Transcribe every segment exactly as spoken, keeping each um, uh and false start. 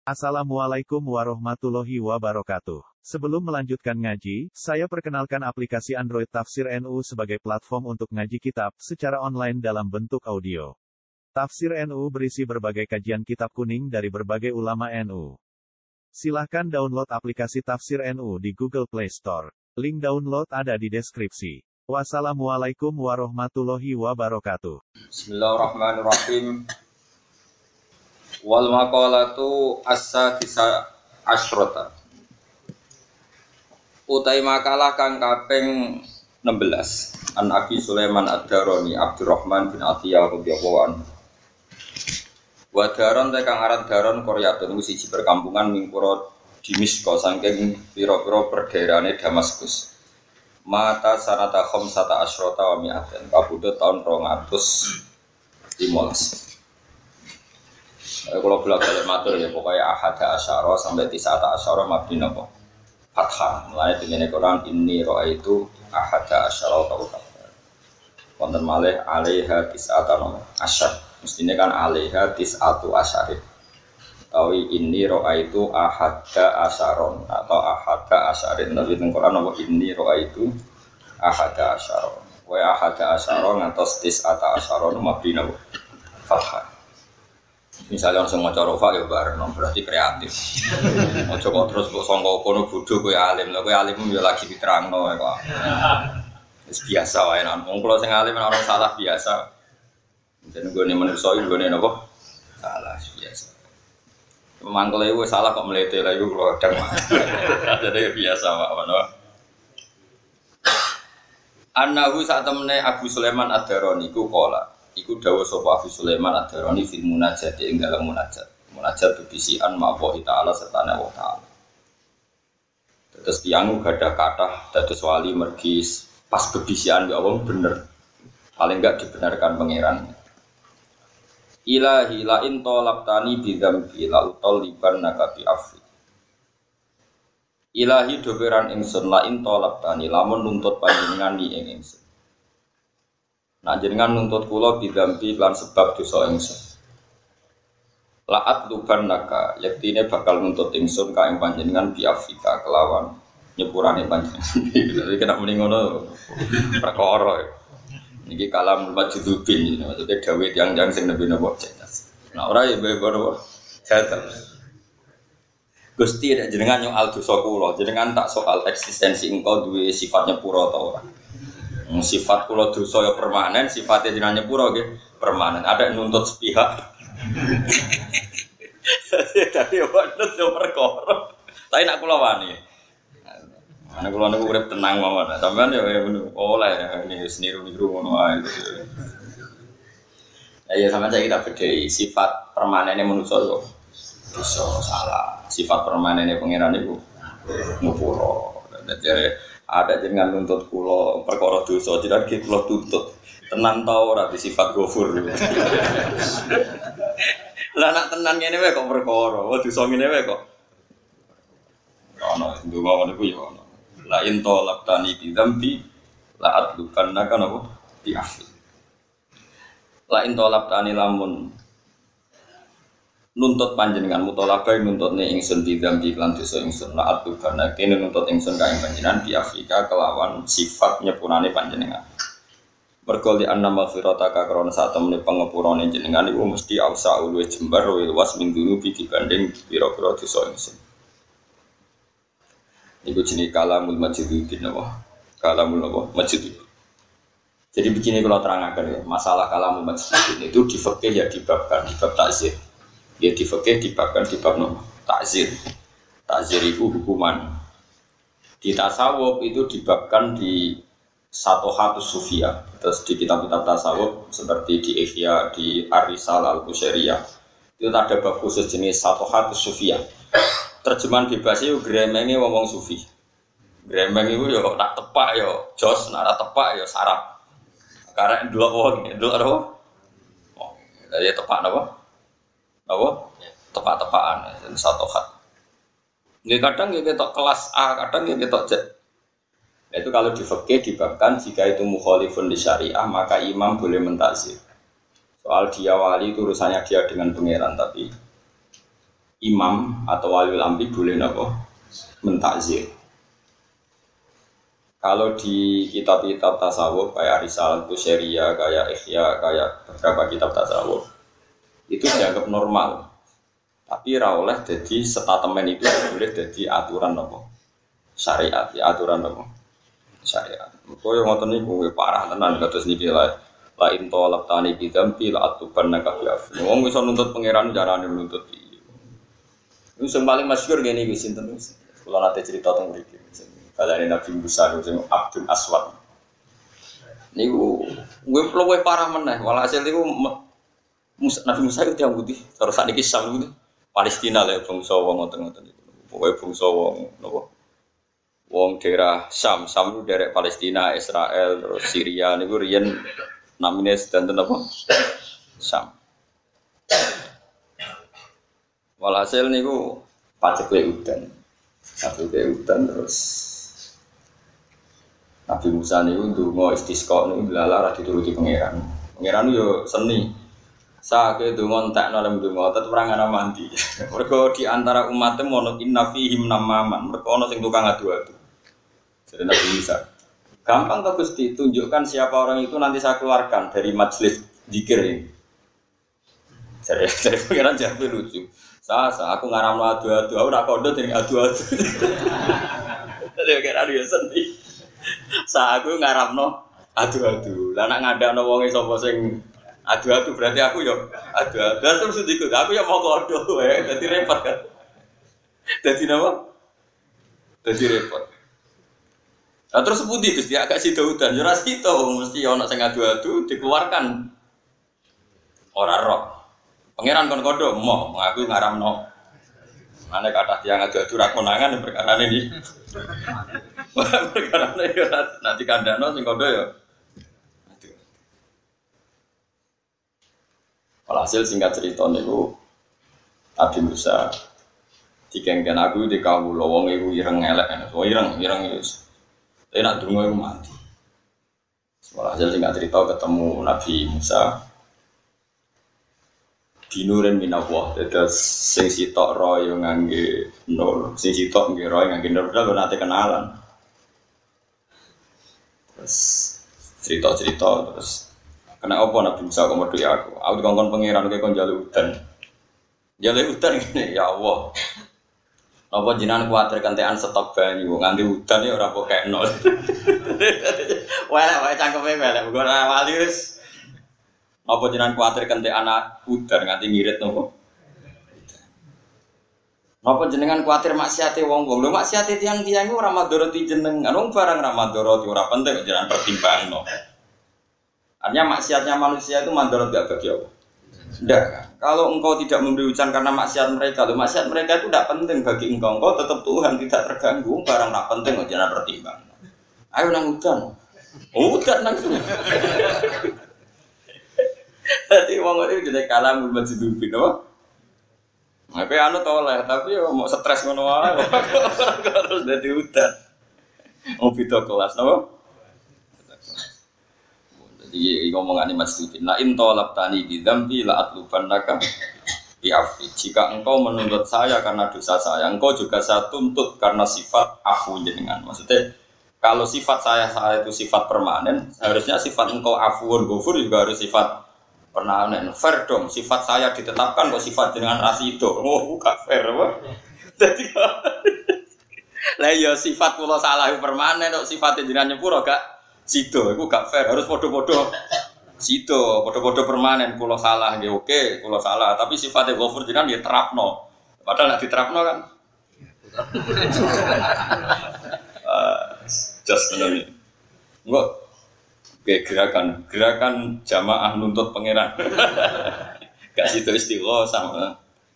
Assalamualaikum warahmatullahi wabarakatuh. Sebelum melanjutkan ngaji, saya perkenalkan aplikasi Android Tafsir N U sebagai platform untuk ngaji kitab secara online dalam bentuk audio. Tafsir N U berisi berbagai kajian kitab kuning dari berbagai ulama N U. Silahkan download aplikasi Tafsir N U di Google Play Store. Link download ada di deskripsi. Wassalamualaikum warahmatullahi wabarakatuh. Bismillahirrahmanirrahim. Wal maqalatu as-sadisa asyrata. Utai makalah kang kaping enam belas. An Abi Sulaiman Ad-Darani Abdurrahman bin Atiyah radhiyallahu anhu. Wa daron te kang aran daron Qaryatun siji perkampungan mingkura Dimisko saking pira-pira perdaerahane Damaskus. Mata sanata khamsata asyrata wa mi'atin. Kabudut taun rong atus lima belas. Kalau bolak-balik matur ya pokoknya ahada asyara sampai tisata asyara mabni napa fathah. Mulane dene Quran inni raaitu ahada asyara kawkaban. Wonten malih alaiha tisata asyar. Mestine kan alaiha tisatu asyar. Tawi inni raaitu ahada asyaron atau ahada asyarin. Tapi teng Quran napa inni raaitu ahada asyara. Wa ahada asyara ngantos tisata asyara mabni napa fathah. Misalnya langsung mau corofa ya bareng, berarti kreatif. Mau coba terus buat songkok kono bodoh gue alim, lah gue alim ya lagi diterang no, kok. Biasa wae nan. Wong kula sing alim orang salah biasa. Jadi gue nih manusia gue nih nopo salah biasa. Mangkel gue salah kok melete lah gue kalau kadang. Jadi biasa pak, no. Anahu saat temne Abu Sulaiman Ad-Darani ku kola. Iku dawuh sapa Abu Sulaiman Ad-Darani fil munajat ing dalam munajat. Munajat bebisian ma'wa ta'ala sertane Allah ta'ala. Terus tiang gadah kathah dados wali mergi pas bebisian ya Allah bener. Paling enggak dibenarkan pangeran. Ilahi la in talabtani bi dzambi la utaliban nakabi afi. Ilahi doberan ingsun la in talabtani lamun nuntut panjenengan ni ing ingsun. Nah jenengan nuntut kula bidampi lan sebab dosa ingsun. La'at luban naka, yaktine bakal nuntut ingsun ka ing panjenengan bi Afrika kelawan nyepurane panjenengan. Jadi kena muni ngono perkara. Niki kalam majdzubin, maksudnya dawuh tiyang-tiyang sing nembe napa cerdas. Nah ora ya bebo cerdas. Gusti nek jenengan nyoal dosa kula, jenengan tak soal eksistensi engkau duwe sifat nyepuro ta ora. Sifat kula dosa ya permanen, sifatnya jenengan nyepuro nggih permanen. Ada nuntut sepihak. Tapi yo nuntut yo perkara. Tapi nek kula wani. Ana kula niku urip tenang mawon. Sampeyan yo oleh ini seniru-niru ngono ae. Ya sampeyan saiki tak bedhei sifat permanene manusa yo dosa salah. Sifat permanene pangeran niku nyepuro. Dadi ada jenengan nuntut kula perkara dosa jenengan ki kula tuntut tenan ta ora di sifat ghafur. Lah nek tenan ngene wae kok perkara, oh dosa ngene wae kok. Ana ndonga ngono iku ya ana. La in talabtani bi dzambi la adlukanna kana apa bi afi. La in talabtani lamun nuntut panjenengan mutolabah nuntutne ingsun didam di lan dosa ingsun la atubana kene nuntut ingsun kae panjenengan di Afrika kelawan sifat nyepurane panjenengan mergo li anna maghfirata ka krana sak temene pangepurane jenengan iku mesti ausa luwih jembar luwih luas minggu iki dibanding pira-pira dosa ingsun iku jenenge kalamul majidin apa kalamul apa majid. Jadi begini kalau terangkan ya masalah kalamul majidin itu di fikih ya dibabkan di bab takzir. Ya di fikih dibabkan di bab no, takzir. Takzir itu hukuman. Di tasawuf itu dibabkan di satu hatus sufia. Terus di kitab-kitab tasawuf seperti di Ihya, di Ar-Risal Al-Qusairiyah itu ada bab khusus jenis satu hatus sufia. Terjemahan bebasnya itu gremenge ngomong sufi. Gremeng itu ya nak tepak ya jos, nak tepak ya sarap. Karena dua wong, dua apa? Oh, jadi tepak apa? Apa? Tepak-tepakan satu hat. Nggih kadang nggih ketok kelas A, kadang nggih ketok Z. Itu kalau di fikih dibabkan jika itu mukhalifun li syariah maka imam boleh mentakzir. Soal dia wali itu urusannya dia dengan pangeran tapi imam atau wali amri boleh napa mentakzir. Kalau di kitab-kitab tasawuf kayak Risalah Kusyairiyah, kayak Ihya, kayak beberapa kitab tasawuf itu dianggap normal. Tapi ra oleh jadi statement itu boleh jadi aturan napa syariat, ya aturan napa syariat. Koyo ngoten niku parah tenan kados niki la la intolab tani bidampi la atuban nakabiaf. Wong iso nuntut pangeran carane nuntut iki. Iku sing paling masyhur ngene iki sinten wis. Kula nate cerita teng mriki. Kalane Nabi Musa sing Abdul Aswad. Niku kuwi luwih parah meneh. Walhasil niku Nabi Musa itu yang putih. Terus sakniki Syam niku Palestina lek bangsa wong ngoten-ngoten niku. Pokoke bangsa wong napa wong daerah Syam, Syam itu daerah Palestina, Israel, terus Syria niku riyen namine sedanten apa? Syam. Walhasil niku pacekle udan. Pacekle udan terus Nabi Musa niku ndonga istisqa niku lala ra dituruti pangeran. Pangeran yo seni. Sake donga entekno lem donga tetep ora ngana mandi. Mergo di antara umatnya ono inna fihim namaman. Mergo ono sing tukang adu-adu. Jadi Nabi Musa, gampang tuh Gusti, tunjukkan siapa orang itu nanti saya keluarkan dari majelis zikir ini. Jadi dari pengiran jawab lucu. Saya, saya aku ngaramno adu-adu, aku nak kondo jadi adu-adu. Jadi pengiran dia sendiri. Saya aku ngaramno adu-adu. Lah nak ngadakno wong sapa sing adu-adu berarti aku yo adu-adu. Terus sedikit aku yo mau kondo, jadi repot kan. Jadi apa? Jadi repot. Nah terus putih Gusti agak sida udan yo ra sida mesti ana sing adu-adu dikeluarkan. Ora roh. Pangeran kon kodo mo aku ngaramno. Mane kathah tiyang adu-adu ra konangan perkarane iki. Perkarane yo nanti kandhano sing kodo yo. Aduh. Walhasil singkat cerita niku Nabi Musa dikengken aku di kawula wong iku ireng elek. Oh ireng, ireng wis. Saya nak dungo itu mati. Walhasil singkat cerita ketemu Nabi Musa dinurin minallah. Terus sing sitok roh yang ngangge nur, sing sitok ngangge roh yang ngangge nur. Udah nanti kenalan. Terus cerita-cerita terus kena apa Nabi Musa komodo ya aku. Aku dikongkon pangeran kayak kon jaluk udan. Jaluk udan gini ya Allah. Napa jenengan kuwatir kentekan stok banyu nganti udan ya ora kok kekno. Welek wae cangkeme welek mugo ora wali wis. Napa jenengan kuwatir kentekan udan nganti ngirit napa? Napa jenengan kuwatir maksiate wong-wong. Lho maksiate tiyang-tiyang iku ora madharati jenengan. Wong barang ora madharati ora penting jenengan pertimbangno. Artinya maksiatnya manusia itu madharat enggak bagi Allah. Tidak kan? Kalau engkau tidak memberi hujan karena maksiat mereka, loh maksiat mereka itu tidak penting bagi engkau, engkau tetap Tuhan tidak terganggu, barang tidak penting, oh, jangan pertimbang. Ayo nang hujan, oh hujan nang semua. Jadi orang itu jadi kalah mulai dihidupin, oh. Tapi anu toleh, tapi ya mau stres ngono wae, terus jadi hujan. Mau video kelas, no? Jadi ngomongan ini masjid. La intolab tani bidampi la atluban naka biafi. Jika engkau menuntut saya karena dosa saya, engkau juga saya tuntut karena sifat afu jenengan. Maksudnya kalau sifat saya saya itu sifat permanen, harusnya sifat engkau afuun ghafur juga harus sifat permanen. Fair dong. Sifat saya ditetapkan kok sifat jenengan rasido. Oh, gak fair apa? Jadi lah ya sifat kula salah permanen kok sifat jenengan nyepuro gak sido, itu gak fair, harus podo-podo sido, podo-podo permanen, kalau salah, ya oke, kalau salah, tapi sifatnya ghafur jenengan ya terapno, padahal nak diterapno kan uh, just ini enggak, oke gerakan, gerakan jamaah nuntut pangeran gak sido istighfar sama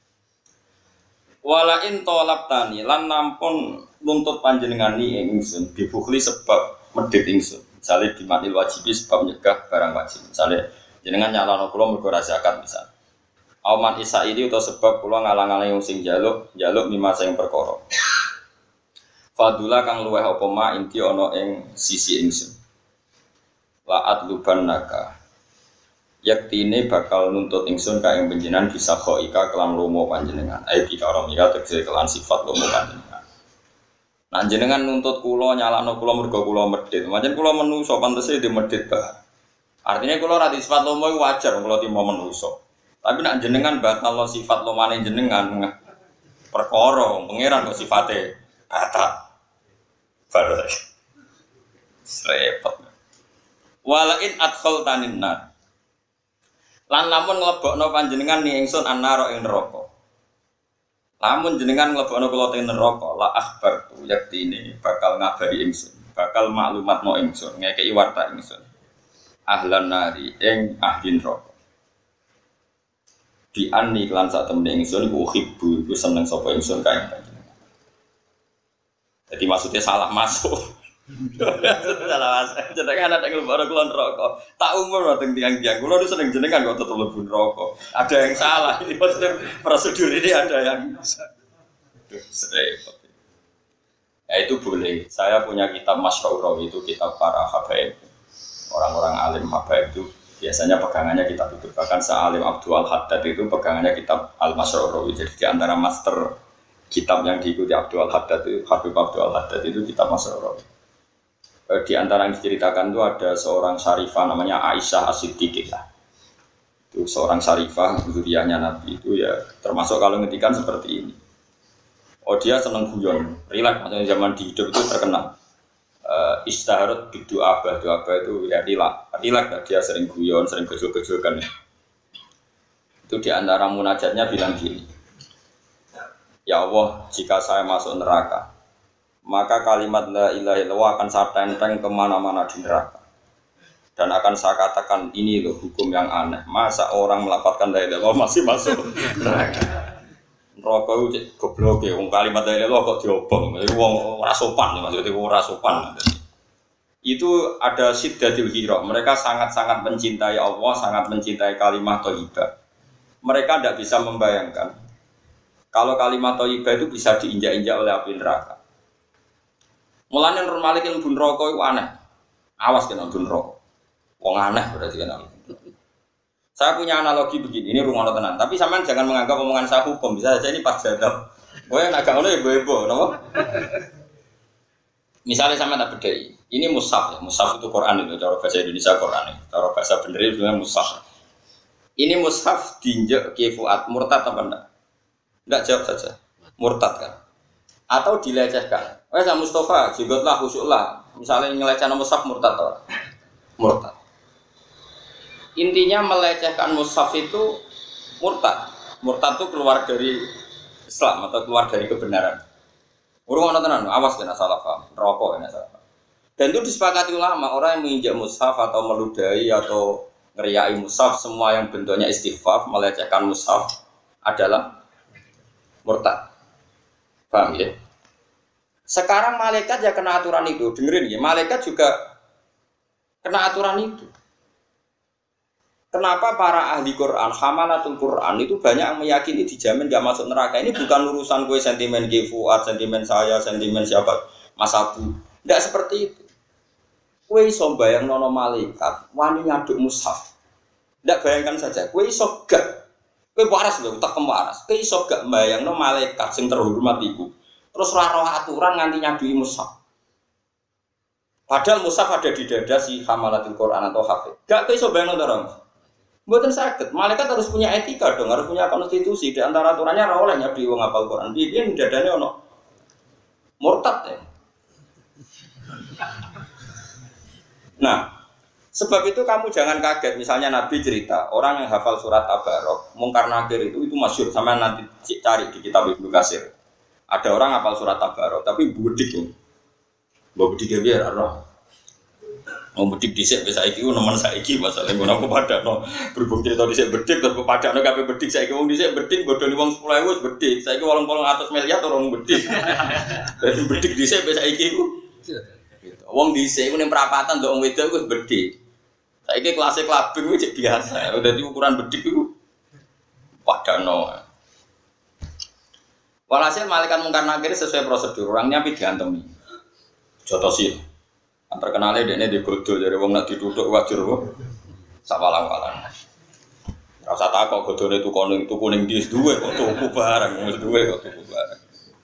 walain tolap tani, lan nampun nuntut panjenengan ni ingsun, dibukhli sebab medit ingsun. Misalnya di matil wajibi sebab menyegah barang wajib. Misalnya jenengan nyalano kula mergo ra zakat misal. Auman isa ini atau sebab kula ngalang-alang sing jaluk, jaluk mimma sing perkara. Fadula kang luweh apa ma inti ana ing sisi ingsun. La'at luban naka. yaktine bakal nuntut ingsun ka ing panjenengan bisa khoika kelan lomo panjenengan ae kita orang ya tegese kelan sifat lomo panjenengan nah jenengan nuntut kula nyalakno kula mergo kula medhit pancen kula menungso pantese di medhit ba artinya kula ra di sifat lomo iku wajar kula timo menungso tapi nek jenengan batalno sifat lomane jenengan perkara pangeran kok sifate kata baru repot walain adkhaltanin nar lan lamun nglebokno panjenengan ni ingsun annara ing neraka. Lamun jenengan nglebokno kula teng neraka, la akhbar tu yaktine bakal ngabari ingsun, bakal maklumatno ingsun, ngekeki warta ingsun. Ahlan nari ing ahli neraka. Di anni lan sak temene ingsun iku uhibbu, iku seneng sapa ingsun kae panjenengan. Jadi maksudnya salah masuk. Salah mas, jenengan ada yang lebaran kulon rokok. Tak umur dateng tiang-tiang. Kulon itu seneng jenengan kok tetap lebih rokok. Ada yang salah. Ini maksudnya prosedur ini ada yang. Repot. Ya itu boleh. Saya punya kitab Masyhur itu kitab para habaib. Orang-orang alim habaib itu biasanya pegangannya kitab itu. Bahkan Sa'alim Abdul Haddad itu pegangannya kitab Al-Masyhur. Jadi di antara master kitab yang diikuti Abdul Haddad itu Habib Abdul Haddad itu kitab Masyhur. Di antara yang diceritakan itu ada seorang syarifah namanya Aisyah As-Siddiqah. Itu seorang syarifah zuriyahnya Nabi itu ya termasuk kalau ngetikan seperti ini. Oh dia seneng guyon, rileks maksudnya zaman di hidup itu terkenal. Uh, Istaharat bidu abah, bidu abah itu ya rileks, rileks dia sering guyon, sering gejol-gejolkan. Itu di antara munajatnya bilang gini. Ya Allah, jika saya masuk neraka, maka kalimat la ilaha illallah akan saya tenteng kemana-mana di neraka dan akan saya katakan ini loh hukum yang aneh masa orang melafalkan la ilaha illallah masih masuk neraka neraka itu goblok ya kalimat la ilaha illallah kok diobong itu wong ora sopan maksudnya ora sopan itu ada syiddatul hira mereka sangat-sangat mencintai Allah sangat mencintai kalimat thayyibah mereka tidak bisa membayangkan kalau kalimat thayyibah itu bisa diinjak-injak oleh api neraka. Mulane normalikin bun rokok itu aneh. Awas kena bun rokok. Wong aneh berarti kena. Saya punya analogi begini, ini rungono tenan. Tapi sampean jangan menganggap omongan saya hukum. Bisa saja ini pas jadab. Kowe nek gak ngono ya ibu-ibu, napa? Misalnya sampean tak bedhei. Ini mushaf ya. Mushaf itu Quran itu cara bahasa Indonesia Quran. Cara bahasa bener itu namanya mushaf. Ini mushaf diinjek Ki Fuad murtad apa enggak? Enggak jawab saja. Murtad kan? Atau dilecehkan. Wes Mustafa, jigotlah khusyuklah. Misalnya ngelecehkan mushaf murtad atau murtad. Intinya melecehkan mushaf itu murtad. Murtad itu keluar dari Islam atau keluar dari kebenaran. Urung ana tenan, awas kena salah paham. Rokok kena salah paham. Dan itu disepakati ulama, orang yang menginjak mushaf atau meludahi atau ngeriai mushaf semua yang bentuknya istighfar, melecehkan mushaf adalah murtad. Paham ya? Sekarang malaikat ya kena aturan itu, dengerin ya, malaikat juga kena aturan itu. Kenapa para ahli Quran, hamalatul Quran itu banyak yang meyakini dijamin gak masuk neraka? Ini bukan urusan gue sentimen G Fuad, sentimen saya, sentimen siapa, Mas Abu. Tidak seperti itu. Gue iso bayang nono malaikat, wani ngaduk mushaf. Tidak bayangkan saja, gue iso gak, gue waras loh, tak kewaras. Gue iso gak bayang nono malaikat yang terhormat itu. Terus roh aturan nganti nyadui mushaf. Padahal mushaf ada di dada si hamalatul Quran atau hafid. Gak bisa bayang orang. Buatan sakit. Malaikat harus punya etika dong, harus punya konstitusi. Di antara aturannya roh oleh nyadui wong hafal Quran. Dia di dadanya ono murtad ya. Nah, sebab itu kamu jangan kaget. Misalnya Nabi cerita orang yang hafal surat Tabarok, Mungkar Nakir itu itu masyhur. Sama nanti cari di kitab Ibnu Katsir. Ada orang hafal surat Tabarok, tapi budik nih, budik dia biar roh. Mau budik disek bisa iki, nomor saya iki masalahnya guna aku pada no berhubung cerita disek bedik terus pada no kape bedik saya iki wong disek bedik bodoh nih wong sepuluh ewu bedik saya iki walang walang atas miliar orang bedik. Dari bedik disek bisa iki ku, wong disek ku nih perapatan dong wedok ku bedik. Saya iki kelasnya kelabing ku cek biasa, udah di ukuran bedik ku pada no. Walhasil malaikat Mungkar Nakir sesuai prosedur orangnya tapi diantemi. Jotosil. Terkenalnya dia ini digodol dari wong nak ditutuk wajar kok. Sawalang-walang. Rasa takok godone tuku kuning tuku ning ndi wis duwe kok tuku barang wis duwe kok tuku barang.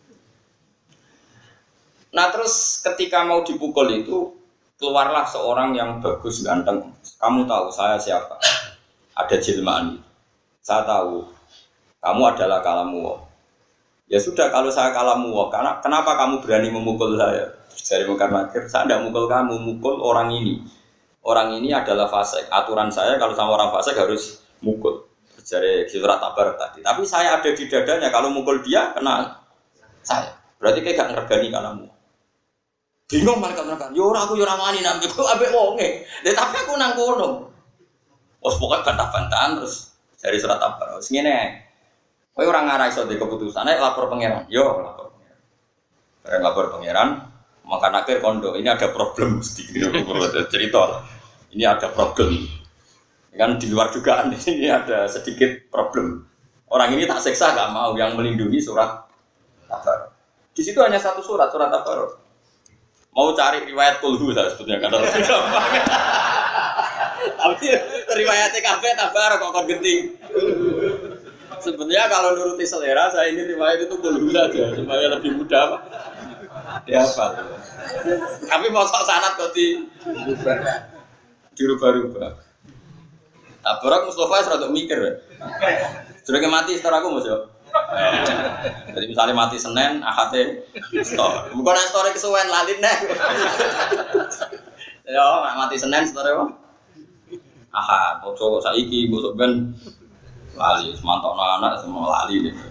Nah terus ketika mau dipukul itu keluarlah seorang yang bagus ganteng. Kamu tahu saya siapa? Ada jelmaan. Saya tahu kamu adalah kalamu. Ya sudah kalau saya kalamu, karena kenapa kamu berani memukul saya? Dari Mekar Nakir, saya tidak mukul kamu, mukul orang ini. Orang ini adalah fasik. Aturan saya kalau sama orang fasik harus mukul. Dari surat Tabar tadi. Tapi saya ada di dadanya. Kalau mukul dia kena saya. Berarti kayak gak ngergani kalamu. Bingung malaikat neraka. Yo ora aku yo ora wani nang aku ambek wonge. Lah tapi aku nang kono. Wes pokoke bantah-bantahan terus dari surat Tabar. Wis ngene. Kowe ora ngarai iso di keputusan, nek lapor pangeran. Yo lapor pangeran. Bareng lapor pangeran, maka akhir kondo ini ada problem mesti cerita. Ini ada problem. Kan di luar dugaan ini ada sedikit problem. Orang ini tak seksa gak mau yang melindungi surat Tabar. Di situ hanya satu surat, surat Tabar. Mau cari riwayat kulhu saya sebetulnya kan harus gampang. Tapi riwayatnya kafe Tabar kok kon genting. Sebenarnya kalau nuruti selera saya ini riwayat itu kulhu saja supaya lebih mudah Pak. Dihafal. Tapi mau sok sanad kok di dirubah-rubah. Tabarak Mustafa serata mikir. Sudah mati setelah aku Mas yo. Jadi misalnya mati Senin, Ahadnya store. Bukan store kesuwen lalin nih. Yo, mati Senin store apa? Ahad, bosok saiki, bosok ben lali, semantau anak semua lali nih.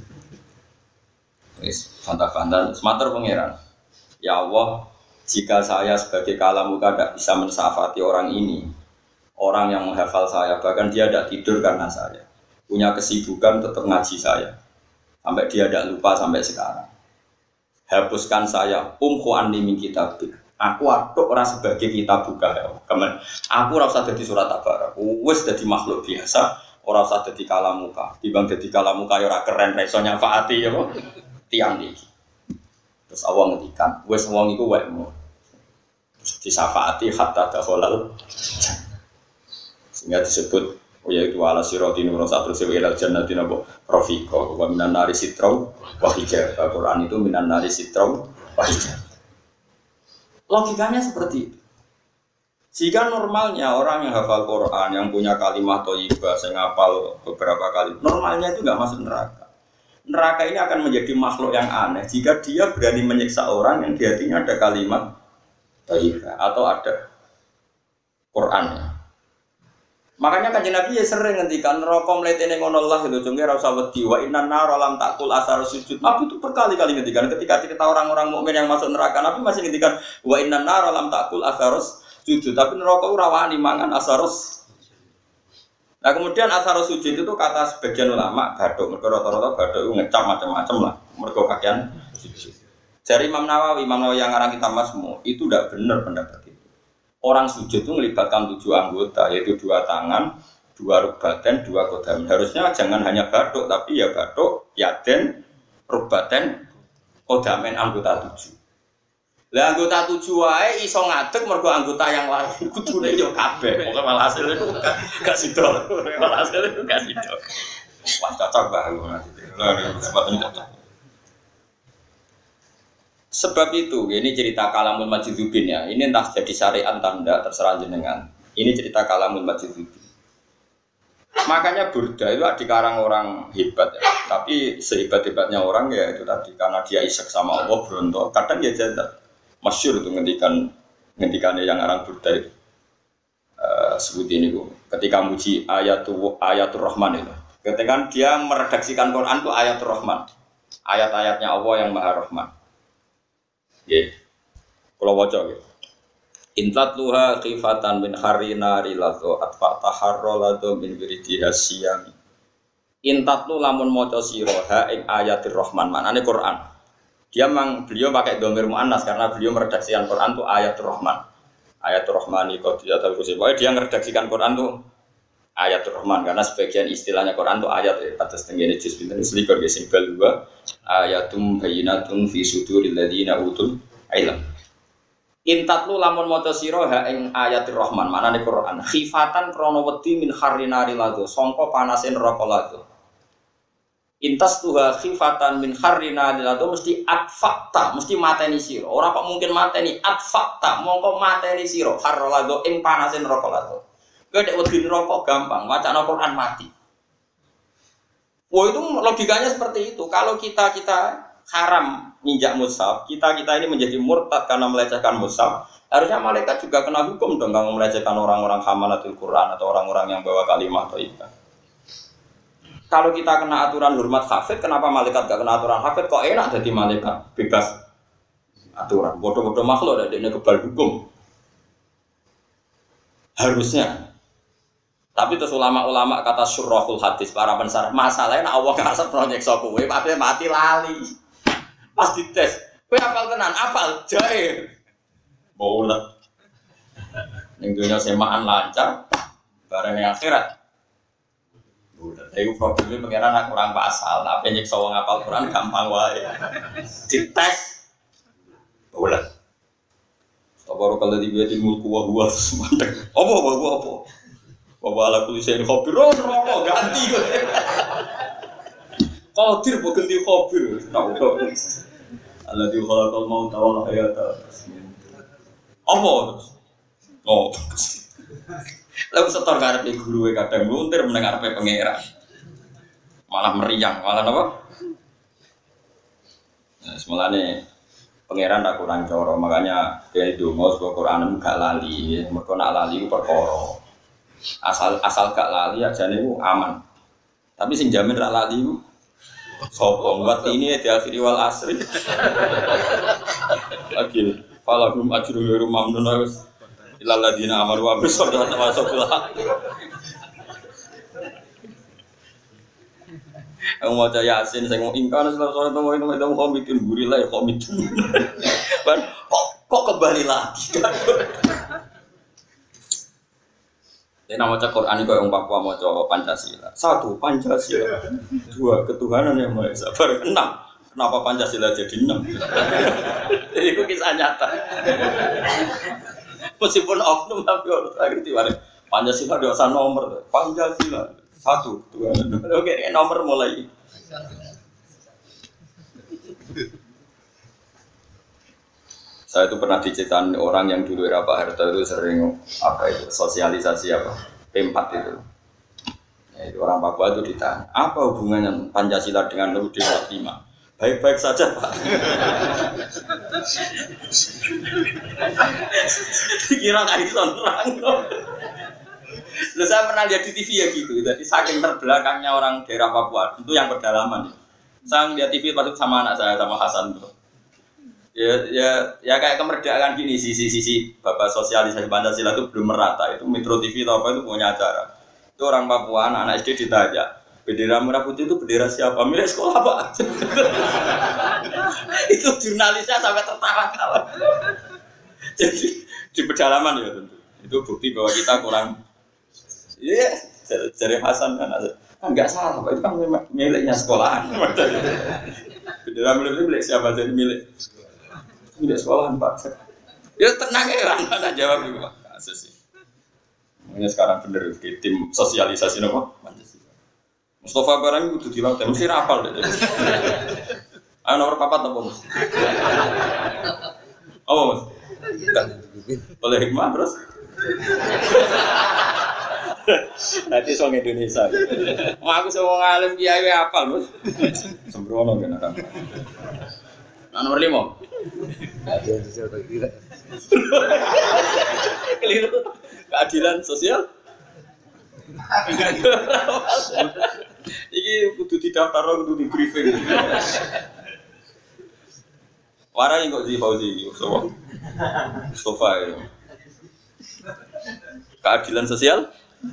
Wis, fanta-fanta, semater pangeran. Ya Allah, jika saya sebagai kalamuka tidak bisa mensafati orang ini, orang yang menghafal saya, bahkan dia tidak tidur karena saya, punya kesibukan tetap ngaji saya, sampai dia tidak lupa sampai sekarang. Hapuskan saya, umhu anni min kitabik. Aku aduk orang sebagai kitab buka ya. Kemen, aku rasa jadi surat Tabar. Wes jadi makhluk biasa, orang rasa jadi kalamuka. Dibang jadi kalamuka ya ora keren, resonya faati ya kok. Tiang nih. Terus awang ngedikan, wes wong iku wekmu. Disafaati hatta dakhalal. Sehingga disebut oh yaitu ala sirati nur satu sewa ilal jannati nabo rafiqa wa minan nari sitrau wa hijab. Al-Qur'an itu minan nari sitrau wa hijab. Logikanya seperti itu. Jika normalnya orang yang hafal Quran, yang punya kalimat thayyibah, yang hafal beberapa kali, normalnya itu enggak masuk neraka. Neraka ini akan menjadi makhluk yang aneh jika dia berani menyiksa orang yang di hatinya ada kalimat thayyibah atau ada Qurannya. Makanya Kanjeng Nabi ya sering ngendikan neraka mletene ngono Allah itu jenenge ra usah wedi wa innan nar lam takul asar sujud. Nabi itu berkali-kali ngendikan ketika cerita orang-orang mukmin yang masuk neraka, Nabi masih ngendikan wa innan nar lam takul asar sujud. Tapi neraka ora wani mangan asarus. Nah kemudian asarus sujud itu kata sebagian ulama bathuk, mergo rata-rata bathuk itu ngecap macam-macam lah. Mergo kakean sujud. Dari Imam Nawawi, Imam Nawawi yang ngarang kitab Masmu itu tidak benar pendapat itu. Orang sujud itu melibatkan tujuh anggota, yaitu dua tangan, dua rukbaten, dua kodam. Harusnya jangan hanya bathuk, tapi ya bathuk, yaden, rukbaten, kodamen anggota tujuh. Lah anggota tujuh wae iso ngadeg mergo anggota yang lain kudune yo kabeh. Pokoke malah hasil itu gak sido. Malah hasil itu gak sido. Wah cocok banget nanti. Lah sebabnya cocok. Sebab itu, ini cerita Kalamul Majidubin ya. Ini entah jadi syariat tanda terserah jenengan. Ini cerita Kalamul Majidubin. Makanya Burda itu dikarang orang hebat ya. Tapi sehebat-hebatnya orang ya itu tadi karena dia isek sama Allah berontok. Kadang dia jadat. Masyhur itu ngendikan ngendikannya yang orang Burda itu. Uh, sebut ini bu. Ketika muji ayatul ayatul Rahman itu. Ketika dia meredaksikan Quran itu ayatul Rahman. Ayat-ayatnya Allah yang Maha Rahman. Nggih. Kula waca nggih. Intatluha khifatan min harina rilatu atfa taharralatu min wiridiha siyami. Intatlu lamun maca sira ha ing ayatir Rahman, maknane Quran. Dia memang beliau pakai dhamir muannas karena beliau meredaksikan Quran itu ayatul Rahman. Ayatul Rahmani qadiyatul kursi. Pokoknya dia meredaksikan Quran itu ayatul Rahman karena sebagian istilahnya Quran itu ayat ya. Atas tenggene juz pinten selikur ge sing dua ayatum bayyinatun fi suduril ladina utul ilm. Intatlu lamun maca sira ha ing ayatir Rahman, manane Quran. Khifatan krana wedi min harrinari lado, sangka panase neraka lado. Intas tuha khifatan min harrinari lado mesti atfakta, mesti mateni sira. Ora kok mungkin mateni atfakta, mongko mateni sira har lado ing panase neraka lado. Kowe nek wedi neraka gampang, wacana Quran mati. Wah itu logikanya seperti itu. Kalau kita kita haram minjak mushaf, kita-kita ini menjadi murtad karena melecehkan mushaf, harusnya malaikat juga kena hukum dong kalau melecehkan orang-orang hamalatul Quran atau orang-orang yang bawa kalimah thayyibah. Kalau kita kena aturan hormat hafid, kenapa malaikat gak kena aturan hafid? Kok enak jadi malaikat bebas aturan? Bodoh-bodoh makhluk ada ini kebal hukum. Harusnya. Tapi terus ulama-ulama kata syurrahul hadis, para pensarah, masalahnya Allah ngasih proyek sokowe, tapi mati lali. Pas dites, kowe apal tenan, apal jae. Bola. Ning dunya semaan lancar, bareng yang akhirat. Bola. Iku problemnya pengiran nak kurang pasal, tapi nyiksa wong apal Quran gampang wae. Dites. Bola. Sabar kalau dibiya di mulku wa huwa semanteng. Apa apa apa apa. Bawa ala kulisen khobir, oh rokok ganti. Qadir bukan di khobir, tahu tak? Allah di khalaqal mauta wal hayata. Apa terus? Oh. Lalu setor karepe guru kadang luntir mendengar pe pangeran. Malah meriang, malah apa? Nah, semulane pangeran tak kurang coro, makanya kayak donga saka Quran gak lali, mergo nak lali ku perkara. Asal asal gak lali aja nih aman. Tapi sing jamin ra lali ku sapa buat ini di akhir wal asri. Lagi falahum ajrun ghairu mamnun wis ilal ladina amanu wa bisadqa tawassul. Aku mau caya Yasin saya mau ingkar setelah sore itu mau itu mau komitin gurilah ya komitin. Kan kok kok kembali lagi kan. Jadi nama cak Quran itu yang Papua mau coba Pancasila. Satu Pancasila, dua ketuhanan yang maha esa. Enam. Kenapa Pancasila jadi enam? Itu kisah nyata. Meskipun oknum tapi orang ngerti mana. Pancasila dua usah nomor. Pancasila satu ketuhanan. Oke nomor mulai. Saya itu pernah diceritain orang yang dulu era Pak Harto itu sering apa itu sosialisasi apa P empat itu. Ya, itu orang Papua itu ditanya, apa hubungannya Pancasila dengan U U D empat puluh lima? Baik-baik saja Pak. Dikira nggak bisa orang. Lalu saya pernah lihat di T V ya gitu. Jadi saking terbelakangnya orang daerah Papua itu yang pedalaman. Saya lihat T V pas sama anak saya sama Hasan tuh. Ya, ya, ya kayak kemerdekaan gini, sisi-sisi bapak sosialisasi Pancasila itu belum merata. Itu Metro T V atau apa itu punya acara. Itu orang Papua, anak-anak S D ditanya, bendera merah putih itu bendera siapa? Milik sekolah Pak. Itu jurnalisnya sampai tertawa-tawa. Jadi di pedalaman ya tentu. Itu bukti bahwa kita kurang. Iya, yeah, dari Hasan kan enggak salah, Pak. Itu kan miliknya sekolahan. Bendera milik milik siapa jadi milik? Milik sekolahan Pak. Ya tenang ya, mana jawab itu Pak. Kasus sih. Makanya sekarang bener di tim sosialisasi nopo Pancasila. Mustafa barang itu dilatih mesti rapal deh. Ayo nomor papat apa Mas? Apa Mas? Boleh hikmah terus? Nanti song Indonesia. Mau aku semua ngalim kiai apal Mas. Sembrono kan orang. Nah, nomor lima. Keliru. Keadilan sosial. Iki kudu didaftar, kudu di briefing. Warai kok di Fauzi iki, so. Mustafa ya. Keadilan sosial.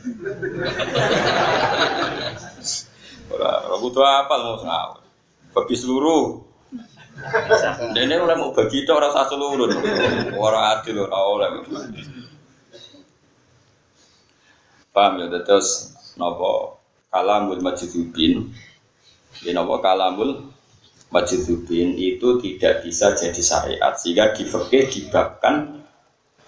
Ora, ora butuh apa mau ngawur. Bagi seluruh. Dene ora mau bagi tok ora usah seluruh. Ora adil ora oleh. Paham ya, terus napa kalamul majdzubin. Ya napa kalamul majdzubin itu tidak bisa jadi syariat sehingga di fikih dibabkan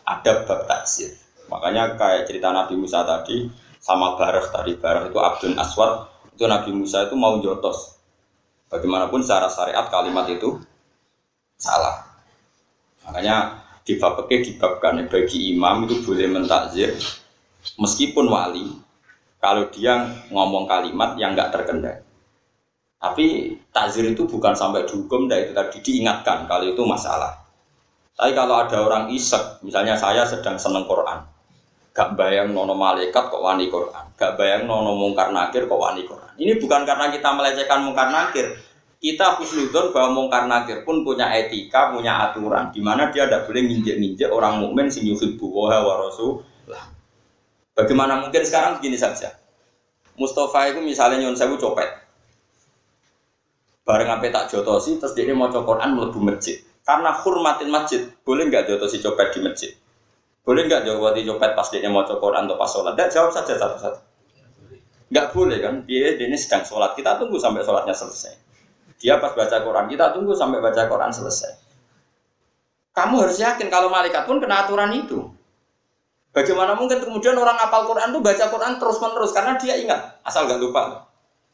ada bab takzir. Makanya kayak cerita Nabi Musa tadi sama Barah tadi, Barah itu Abdul Aswad, itu Nabi Musa itu mau jotos. Bagaimanapun secara syariat kalimat itu salah. Makanya di bab fikih dibabkan bagi imam itu boleh mentakzir meskipun wali kalau dia ngomong kalimat yang enggak terkendali. Tapi takzir itu bukan sampai dihukum, dan itu tadi diingatkan kalau itu masalah. Tapi kalau ada orang isek, misalnya saya sedang seneng Quran, gak bayang nono malaikat kok wani Quran, gak bayang nono mungkar nakir kok wani Quran. Ini bukan karena kita melecehkan mungkar nakir, kita husnudzon bahwa mungkar nakir pun punya etika, punya aturan, di mana dia tidak boleh nginjek-nginjek orang mukmin sing yuhibbu wa rasulullah. Bagaimana mungkin sekarang begini saja, Mustafa itu misalnya nyon sewu copet, bareng sampai tak jotosi, terus dia mau Quran mlebu masjid. Karena hormatin masjid, boleh nggak jotosi copet di masjid? Boleh nggak jotosi copet pas dia mau Quran atau pas sholat? Dan jawab saja satu-satu. Nggak boleh kan? Dia, dia ini sedang sholat, kita tunggu sampai sholatnya selesai. Dia pas baca Quran, kita tunggu sampai baca Quran selesai. Kamu harus yakin kalau malaikat pun kena aturan itu. Bagaimana mungkin kemudian orang hafal Quran itu baca Quran terus-menerus karena dia ingat, asal nggak lupa.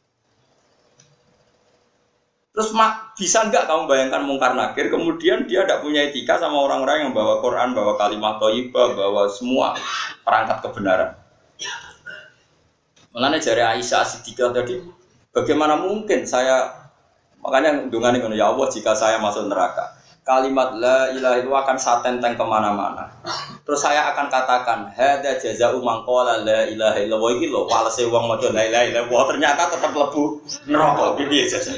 Terus mak, bisa nggak kamu bayangkan mungkar nakir, kemudian dia tidak punya etika sama orang-orang yang bawa Quran, bawa kalimat thayyibah, bawa semua perangkat kebenaran. Makanya jari Aisyah Siddiqah tadi, bagaimana mungkin saya, makanya dungan ini, ya Allah jika saya masuk neraka, kalimat la ilaha itu akan saya tenteng kemana-mana. Terus saya akan katakan, hada jaza'u man qala la ilaha illallah iki lho, walese wong maca la ilaha illallah ternyata tetap lebu neraka piye jasa.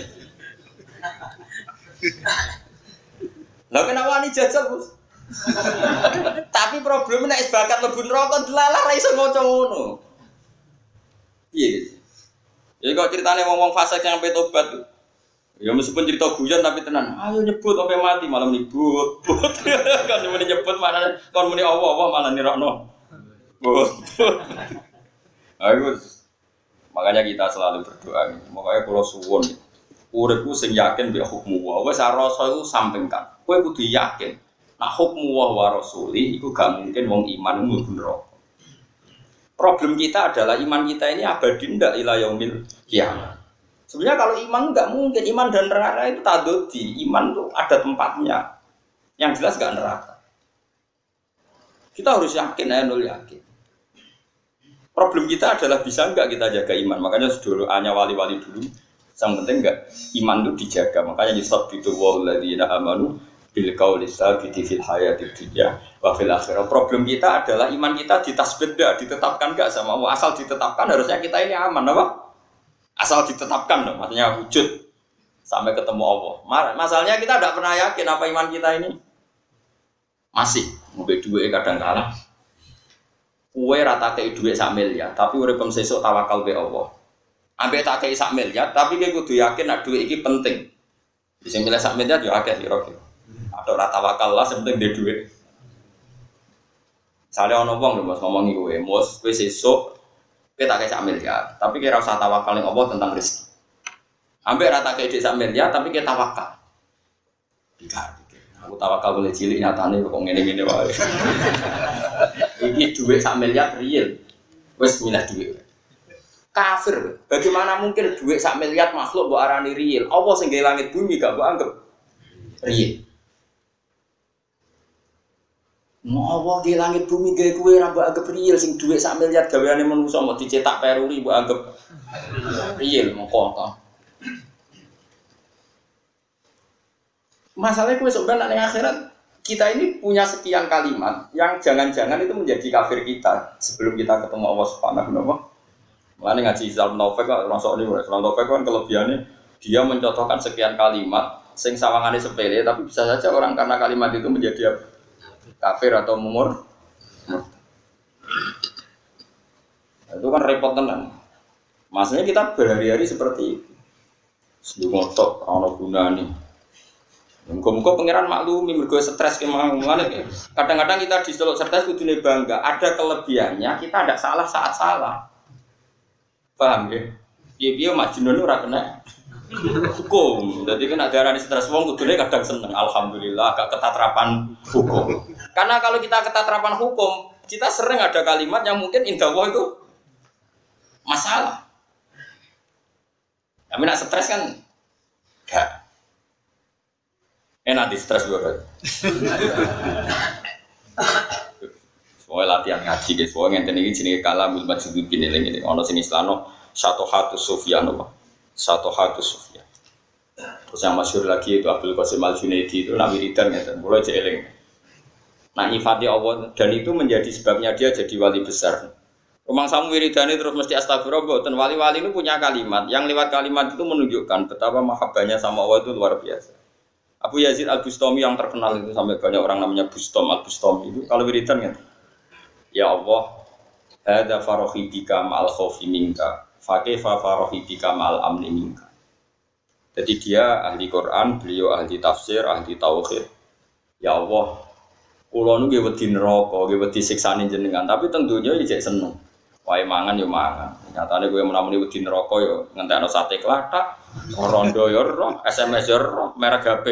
Lah kenapa ini jajal, Bos? Tapi problemnya nek bakat lebu neraka delalah ra iso maca ngono. Piye? Ya kok ceritane wong-wong fasik yang sampai tobat. Ya meskipun cerita guyon tapi tenan. Ayo nyebut sampai mati malam nyebut. Kan muni nyebut mana kon muni Allah-Allah malah nirokno. Bos. Ayo. Makanya kita selalu berdoa. Makanya kalau suwun uripku sing yakin mbek hukmu wa wis rasa iku sampingkan. Kowe kudu yakin nek hukmu wa rasuli iku gak mungkin wong iman mlebu neraka. Problem kita adalah iman kita ini abadi ndak ila yaumil qiyamah. Sebenarnya kalau iman enggak mungkin, iman dan neraka itu tadodi. Iman itu ada tempatnya. Yang jelas enggak neraka. Kita harus yakin, ya nol yakin. Problem kita adalah bisa enggak kita jaga iman. Makanya doanya wali-wali dulu. Yang penting enggak iman itu dijaga. Makanya yusabbitu walladzina amanu bil qauli tsabiti fil hayatid dunya wa fil akhirah. Problem kita adalah iman kita ditasbih enggak, ditetapkan enggak sama Allah. Asal ditetapkan harusnya kita ini aman, apa? Asal ditetapkan dong, maksudnya wujud sampai ketemu Allah. Masalahnya kita tidak pernah yakin apa iman kita ini. Masih ngombe duit kadang kalah. Kue rata kei duit sak miliar, tapi uripem sesuk tawakal be Allah. Ambek tak kei sak miliar, tapi kowe kudu yakin nek duit iki penting. Sing milih sak miliar yo akeh kira-kira. Atau rata wakal lah, sepenting dia duit. Misalnya ono wong lho Mas ngomong iki kowe, Mus, kowe sesuk kowe tak kei sak miliar, tapi kowe ora usah tawakal ning Allah tentang rezeki. Ambek rata kei sak miliar, tapi kowe tawakal. Tiga. Aku tawakal boleh cilik nyatane kok ngene-ngene wae. Iki duit sak miliar real. Wis milih duit. Kafir. Bagaimana mungkin duit sak miliar makhluk mbok arani real? Allah sing gawe langit bumi gak mbok anggap real. Mau Allah gawe langit bumi gawe kowe ora mbok anggap real, sing duit sak miliar gaweane manusa mau dicetak peruri mbok anggap real mongko to. Masalahnya kue sebenarnya di akhirat kita ini punya sekian kalimat yang jangan-jangan itu menjadi kafir kita sebelum kita ketemu Allah Subhanahu wa taala. Mulane ngaji Islam Taufik kok masuk ini Islam Taufik kan kelebihannya dia mencontohkan sekian kalimat sing sawangane sepele tapi bisa saja orang karena kalimat itu menjadi kafir atau mumur. Itu kan repot tenan. Maksudnya kita berhari-hari seperti itu. Sebelum ngotok ana gunane. Muka-muka pangeran maklumi mergo stres kemana ya. Kadang-kadang kita diseluk stres kudune bangga. Ada kelebihannya kita tidak salah saat salah. Paham ya? Piye-piye majnun ora kena hukum. Jadi kan ada arane stres wong kudune kadang seneng. Alhamdulillah agak ketatrapan hukum. Karena kalau kita ketatapan hukum, kita sering ada kalimat yang mungkin indah Allah itu masalah. Tapi nak stres kan gak enak di stres juga. Soalnya latihan ngaji guys, soalnya ngenten ini jenis kalamul majidud gini lagi. Ono sini selano satu hatu Sufyan apa? Satu hatu Sufyan. Terus yang masyhur lagi itu Abdul Qasim Al Junaidi itu nabi wiridan ngeten, mulai jeeling. Nah nyifati Allah dan itu menjadi sebabnya dia jadi wali besar. Rumah samu wiridane terus mesti astagfirullah. Dan wali-wali itu punya kalimat yang lewat kalimat itu menunjukkan betapa mahabbahnya sama Allah itu luar biasa. Abu Yazid Al Bustami yang terkenal itu sampai banyak orang namanya Bustom Al Bustami itu kalau wiridan kan, ya Allah, hada farohi bika ma'al khawfi minka, fakefa farohi bika ma'al amni minka. Jadi dia ahli Quran, beliau ahli tafsir, ahli tauhid. Ya Allah, kula nu nggih wedi neraka, nggih wedi siksane jenengan, tapi teng donya iki jek seneng. Wae mangan yo mangan. Nyatane kowe menamuni wedi neraka yo ngentekno sate klathak, rondo yo ro, S M S yo ro, merek H P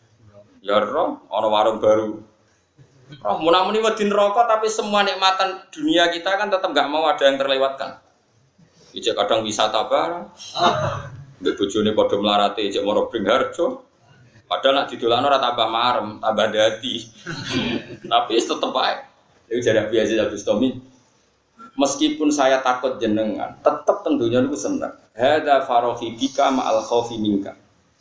yo ro, ana warung baru. Roh menamuni wedi neraka tapi semua nikmatan dunia kita kan tetap enggak mau ada yang terlewatkan. Ijek kadang wisata bareng. Mbek bojone padha mlarate ijek moro Bringharjo. Padahal nak didolano ora tambah marem, tambah dadi. Tapi tetep ae. Iku jare biasa Al Bustami. Meskipun saya takut jenengan, tetep tentunya niku seneng. Hadza farohi bika ma'al khaufi minka.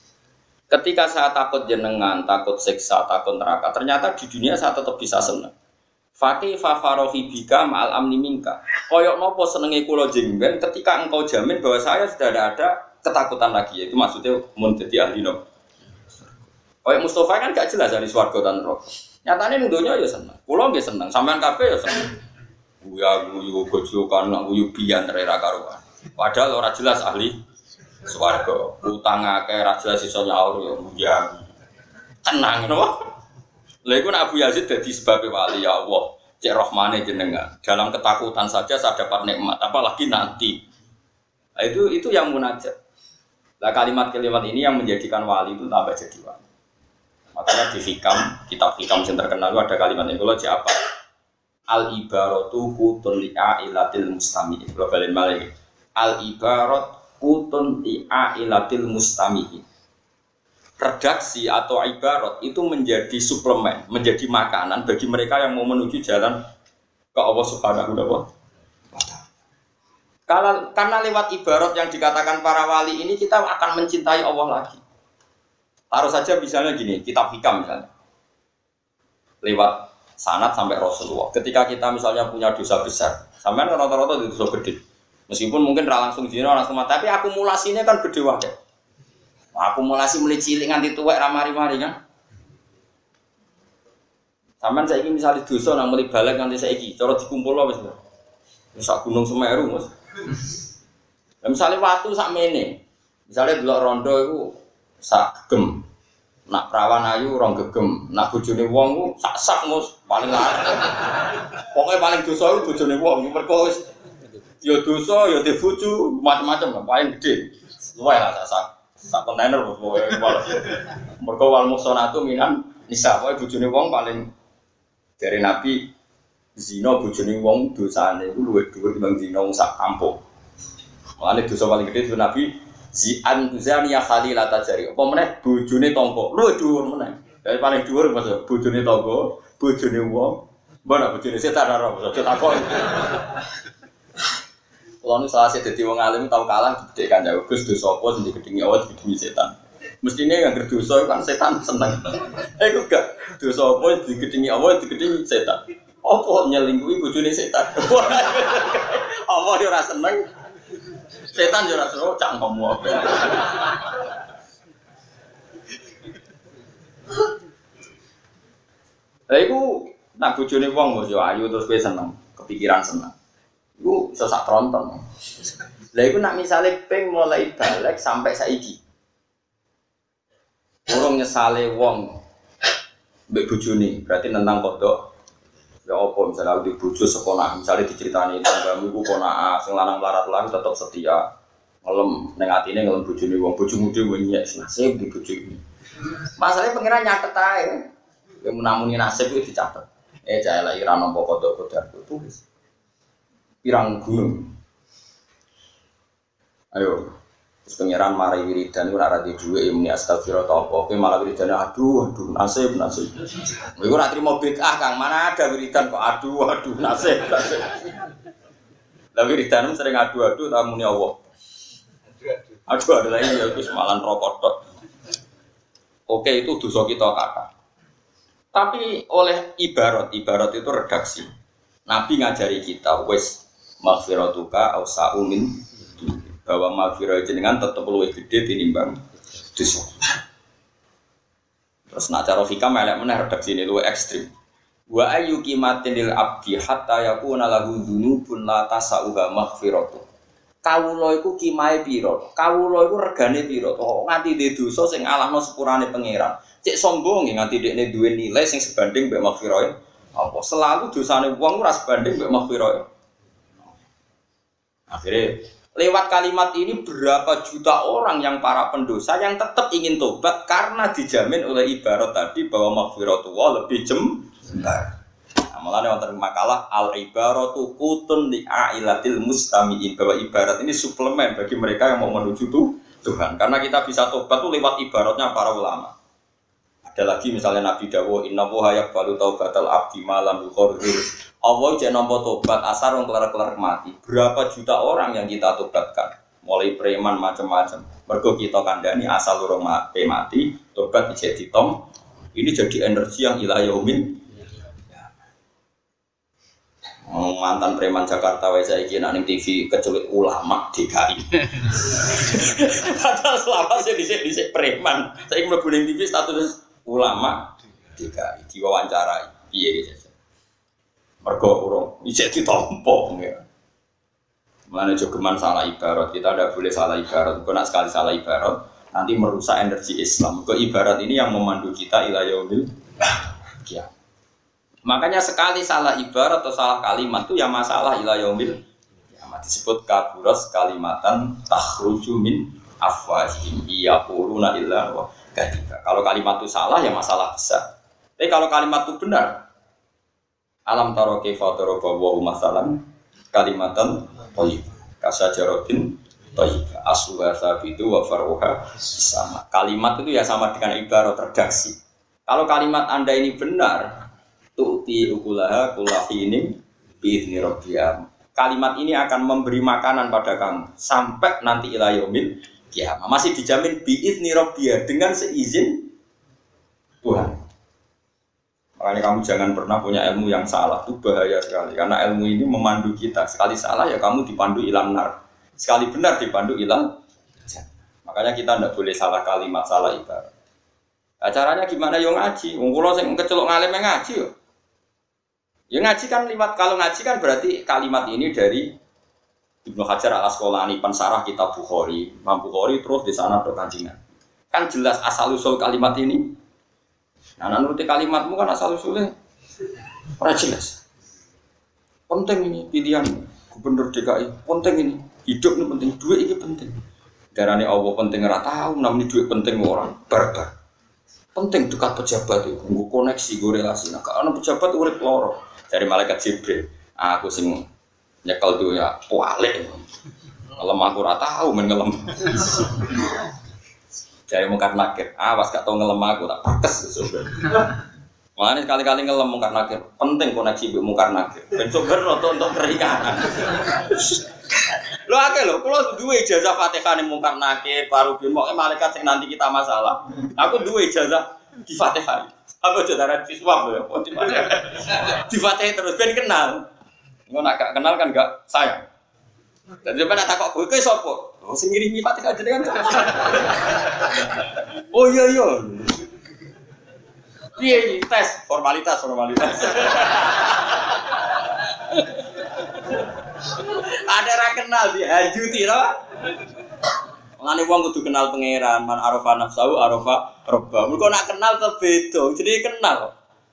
Ketika saya takut jenengan, takut siksa, takut neraka, ternyata di dunia saya tetap bisa seneng. Fakih fa farohi bika ma'al amni minka. Koyok nopo senenge kula jenengan ketika engkau jamin bahwa saya sudah tidak ada ketakutan lagi. Itu maksudnya mun dadi ahli no. Kayak Mustafa kan gak jelas dari swarga dan neraka. Nyatane ning donya ya seneng. Kula nggih seneng, sampean kabeh ya seneng. Guya guyu gojokan nang guyu biyan ra karuan. Padahal ora jelas ahli swarga. Utang akeh ra jelas iso nyaur ya guya. Tenang no. Lha iku nek Abu Yazid dadi sebab wali ya Allah. Cek rahmane jenengan. Dalam ketakutan saja saya dapat nikmat, apalagi nanti. Nah, itu itu yang munajat. Lah kalimat-kalimat ini yang menjadikan wali itu tambah jadi wali. Makanya di hikam, kitab hikam yang terkenal itu ada kalimat ini. Kalau siapa? Al ibaratu hutun li'ailatil mustami'in. Kalau balik balik. Al ibarat hutun li'ailatil mustami'in. Redaksi atau ibarat itu menjadi suplemen, menjadi makanan bagi mereka yang mau menuju jalan ke Allah Subhanahu wa taala. Karena, karena lewat ibarat yang dikatakan para wali ini kita akan mencintai Allah lagi. Taruh saja misalnya gini, kitab hikam misalnya. Lewat sanad sampai Rasulullah. Ketika kita misalnya punya dosa besar, sampean rata-rata dosa gede. Meskipun mungkin ra langsung zina langsung mati, tapi akumulasinya kan gede wae. Akumulasi mulai cilik nganti tuwek ra mari-mari kan. Sampean saiki misalnya dosa nang mulai balik nganti saiki, cara dikumpulno wis. Wis sak gunung Semeru, Mas. Lah misale watu sak mene. Misale delok rondo iku sak gegem. Nak perawan ayu rong gegem, nak bojone wong ku sak-sak Mus, paling larang. Pokoke paling dosa iku bojone wong, mergo wis ya dosa ya de bojo, macam-macam paling gede. Luwe lah sak sak kontainer pokoke. Mergo wal muhsanatu minan nisa, pokoke bojone wong paling dari Nabi zina bojone wong dosane iku luwih dhuwur timbang zina wong sak kampung. Mulane dosa paling gede itu Nabi Zi'an Zania Khalilata jari. Apa meneh bojone tangga. Luwih dhuwur meneh. Dari paling dhuwur Mas bojone tangga, bojone wong. Mbok bojone setan ora aja takon. Kulo nu salah dadi wong alim tau kalah gede kan ya Gus dosa apa sing digedhingi awet digedhingi setan. Mestine yang berdosa kan setan seneng. Eh kok gak dosa apa digedhingi awet digedhingi setan. Apa nyelingkuhi bojone setan. Apa dia ora seneng? Setan yo ora seru cangkemmu apa. Lah iku nak bojone wong yo ayu terus kowe seneng, kepikiran seneng. Iku iso sak tronton. Lah iku nak misale ping mulai balik sampai saiki. Urung nyesale wong mbek bojone, berarti nentang kodok. Ya apa misalnya di bojo sekolah, misalnya diceritani tanggamu iku konak sing lanang larat-larat tetep setia. Ngelem ning atine ngelem bojone wong, bojomu dhewe nyek nasib di bojo iki. Masalahe pengiran nyatet ae. Yang menamuni nasib itu dicatat. Eh cah elek ira nampa kodok kodar tulis. Pirang gunung. Ayo. Terus pangeran mari wiridan ora ra di dhuwit muni astagfirullah ta apa. Kowe malah wiridane aduh aduh nasib nasib. Kowe ora trimo bid'ah Kang, mana ada wiridan kok aduh aduh nasib nasib. Lah wiridan sering aduh-aduh ta muni Allah. Aduh ada lagi ya wis malan rokok tok. Oke itu dosa kita kata. Tapi oleh ibarat, ibarat itu redaksi. Nabi ngajari kita wis maghfiratuka ausa'u min bahwa maghfirah jenengan tetep luwih gedhe tinimbang dosa. Terus nak cara hikam elek meneh redaksine luwih ekstrim. Wa ayyukimatin lil abdi hatta yakuna lahu dzunubun la tasauha maghfiratuh. Kawula iku kimahe pira? Kawula iku regane pira? Kok nganti ndek dosa sing alahno sepurane pangeran. Cek sombong nganti dekne duwe nilai sing sebanding mbek maghfirah. Apa selalu dosane wong ora sebanding mbek maghfirah. Akhirnya lewat kalimat ini berapa juta orang yang para pendosa yang tetap ingin tobat karena dijamin oleh ibarat tadi bahwa maghfiratullah lebih jembar. Mulane wonten makalah al ibaratu qutun li ailatil mustamiin, bahwa ibarat ini suplemen bagi mereka yang mau menuju tuh Tuhan. Karena kita bisa tobat tuh lewat ibaratnya para ulama. Ada lagi misalnya Nabi dawuh inna wa yaqbalu taubatal abdi malam yuqarrir. Allah jek nampa tobat asar wong kelar-kelar mati. Berapa juta orang yang kita tobatkan? Mulai preman macam-macam. Mergo kita kandhani asal urung mati, tobat dijek ditom. Ini jadi energi yang ila yaumin. Mantan preman Jakarta wae saiki nek ning T V keculik ulama D K I. Padahal selama sih dhisik-dhisik preman, saiki mlebu ning T V status ulama D K I diwawancarai. Piye iki? Mergo urung isih ditompo ya. Mulane jogeman salah ibarat, kita tidak boleh salah ibarat. Kok nak sekali salah ibarat nanti merusak energi Islam. Kok ibarat ini yang memandu kita ila yaumil qiyamah. Makanya sekali salah ibarat atau salah kalimat itu ya masalah ila yaumil qiyamah. Disebut kaburas kalimatan takhruju min afwahihim yaquluna illa wa kadhiba. Kalau kalimat itu salah ya masalah besar. Tapi kalau kalimat itu benar, alam taro kaifa daraba wa masalan kalimatan thayyibah kasajaratin thayyibah asluha sabitu wa faruha sama. Kalimat itu ya sama dengan ibarat redaksi. Kalau kalimat Anda ini benar, tu'ti ukulaha kulahinin biizni rabbiyah. Kalimat ini akan memberi makanan pada kamu sampai nanti ila yaumil qiyamah. Masih dijamin biizni rabbiyah dengan seizin Tuhan. Makanya kamu jangan pernah punya ilmu yang salah, itu bahaya sekali. Karena ilmu ini memandu kita. Sekali salah ya kamu dipandu ilang nar. Sekali benar dipandu ilang. Makanya kita tidak boleh salah kalimat, salah ibarat. Nah, caranya gimana? Yo ngaji. Wong kula sing kecelok ngalem ngaji yo. Ya ngaji kan lewat, kalau ngaji kan berarti kalimat ini dari Ibnu Hajar al-Asqalani pensarah kitab Bukhari. Imam Bukhari terus di sana do kancingan. Kan jelas asal usul kalimat ini. Nah, nuruti kalimatmu kan asal usulnya ora jelas. Penting ini pilihan gubernur D K I. Penting ini. Hidup ini penting, duit ini penting. Darane Allah penting ora tahu, namanya duit penting orang barbar. Penting dekat pejabat itu, nggo koneksi, nggo relasi. Nah, kalau pejabat urip loro. Dari malaikat Jibril, aku sing nyekel tuh ya kualik, ngelem aku rata tahu men ngelem. Dari mungkar nakir, awas gak tau ngelem aku tak pates sumber. Makanya sekali-kali ngelem mungkar nakir, penting koneksi bu mungkar nakir. Ben sumber untuk untuk keringanan. Lo akeh lo, kalau dua ijazah Fatihah nih mungkar nakir, baru bimo malaikat sing nanti kita masalah. Aku dua ijazah di Fatihah. Aku saudara siswa loh, di Fatihah terus ben kenal. Engko nak gak kenal kan gak sayang. Jadi ben tak kok kowe ki sapa? Oh sing ngirimi Fatihah jenengan. Oh iya iya. Piye tes formalitas formalitas. Ada ra kenal dihajuti lho. Ngene wong kudu kenal pangeran, man arafa nafsu arafa rabba. Mergo nak kenal terbeda, jadi kenal.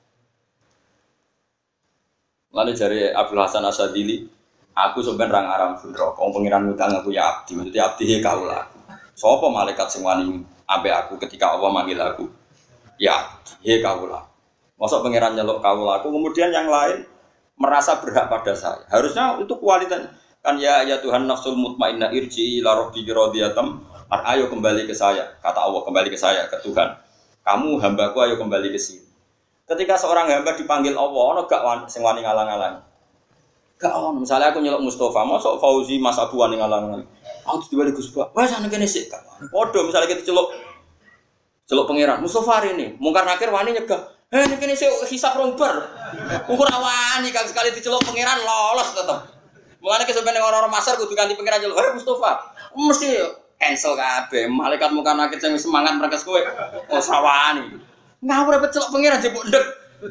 Lalu jare Abdul Hasan Asadili, aku sampean ra ngaram neraka. Wong pangeran ngutang aku ya abdi, maksudnya abdi he kaula. Sapa malaikat sing wani ambek aku ketika Allah manggil aku? Ya abdi he kaula. Masuk pangeran nyeluk kawulaku, kemudian yang lain merasa berhak pada saya. Harusnya itu kualitas kan ya ya Tuhan nafsul mutmainnah irji ila rabbiki radhiyatam. Ayo kembali ke saya, kata Allah kembali ke saya ke Tuhan. Kamu hambaku ayo kembali ke sini. Ketika seorang hamba dipanggil Allah, ono gak wan, sing wani ngalang-alang. Gak ono. Misalnya aku nyeluk Mustafa, masuk Fauzi Mas Abu wani ngalang-alang. Aku dibalik Gus Pak. Wes ana kene sik. Podho misalnya kita celuk celuk pangeran Mustafa hari ini, mungkar nakir wani nyegah. Eh nek kene sik hisab rombar. Ukur awani kang sekali diceluk pangeran lolos tetep. Mulane kesampeyan orang-orang masar kudu ganti pangeran celuk. Eh Mustafa, mesti cancel kabeh. Malaikat mungkar nakir sing semangat merkes kowe. Oh sawani. Ngawur repet celuk pangeran jebuk ndek.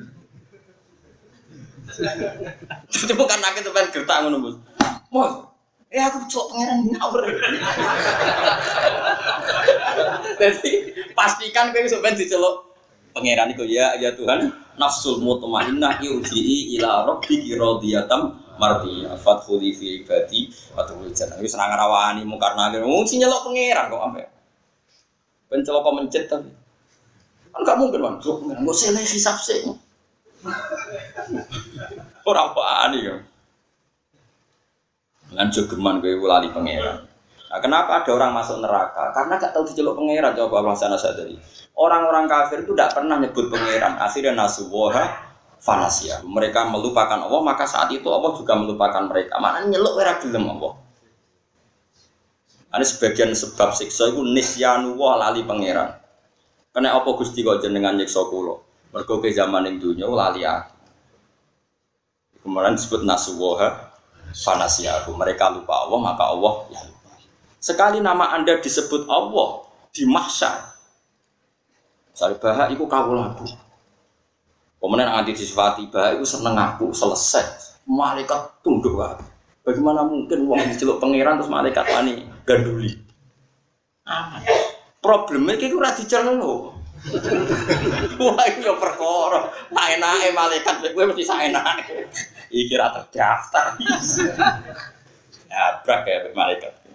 Jadi mungkar nakir sampeyan gertak ngono, Mus. Mus, eh aku celuk pangeran ngawur. Jadi pastikan kowe sampeyan diceluk pangeran itu ya ya Tuhan nafsul mutmainnah irji'i ila rabbiki radhiyatam mardiyah fadkhuli fi ibadi wa tadkhulul jannah wis nang rawani mungkar nakir wong sing nyeluk pangeran kok ampe ben celaka mencet tapi kan gak mungkin kan celuk pangeran kok sele hisab sik ora wani ya lan jogeman kowe lali pangeran. Nah, kenapa ada orang masuk neraka? Karena gak tahu diceluk pangeran. Coba Allah sana sadari. Orang-orang kafir itu tidak pernah nyebut pangeran. Akhirnya nasuwaha fanasia. Mereka melupakan Allah, maka saat itu Allah juga melupakan mereka. Maknanya nyeluk ora gelem Allah. Ini sebagian sebab siksa itu nisyanu wa lali pangeran. Karena apa Gusti kok jenengan nyiksa kula? Mergo ke zaman ning donya lali aku. Kemudian disebut nasuwaha fanasia. Mereka lupa Allah, maka Allah ya lupa. Sekali nama Anda disebut Allah di mahsyar. Misalnya bahak itu kawulaku. Kemudian nanti disifati bahak itu seneng aku selesai. Malaikat tunduk aku. Bagaimana mungkin wong diceluk pangeran terus malaikat wani ganduli? Aman. Problemnya itu ora diceluk. Wah itu ya perkara. Tak enake malaikat kowe mesti saenake. Iki ra terdaftar. Ya brak ya malaikat.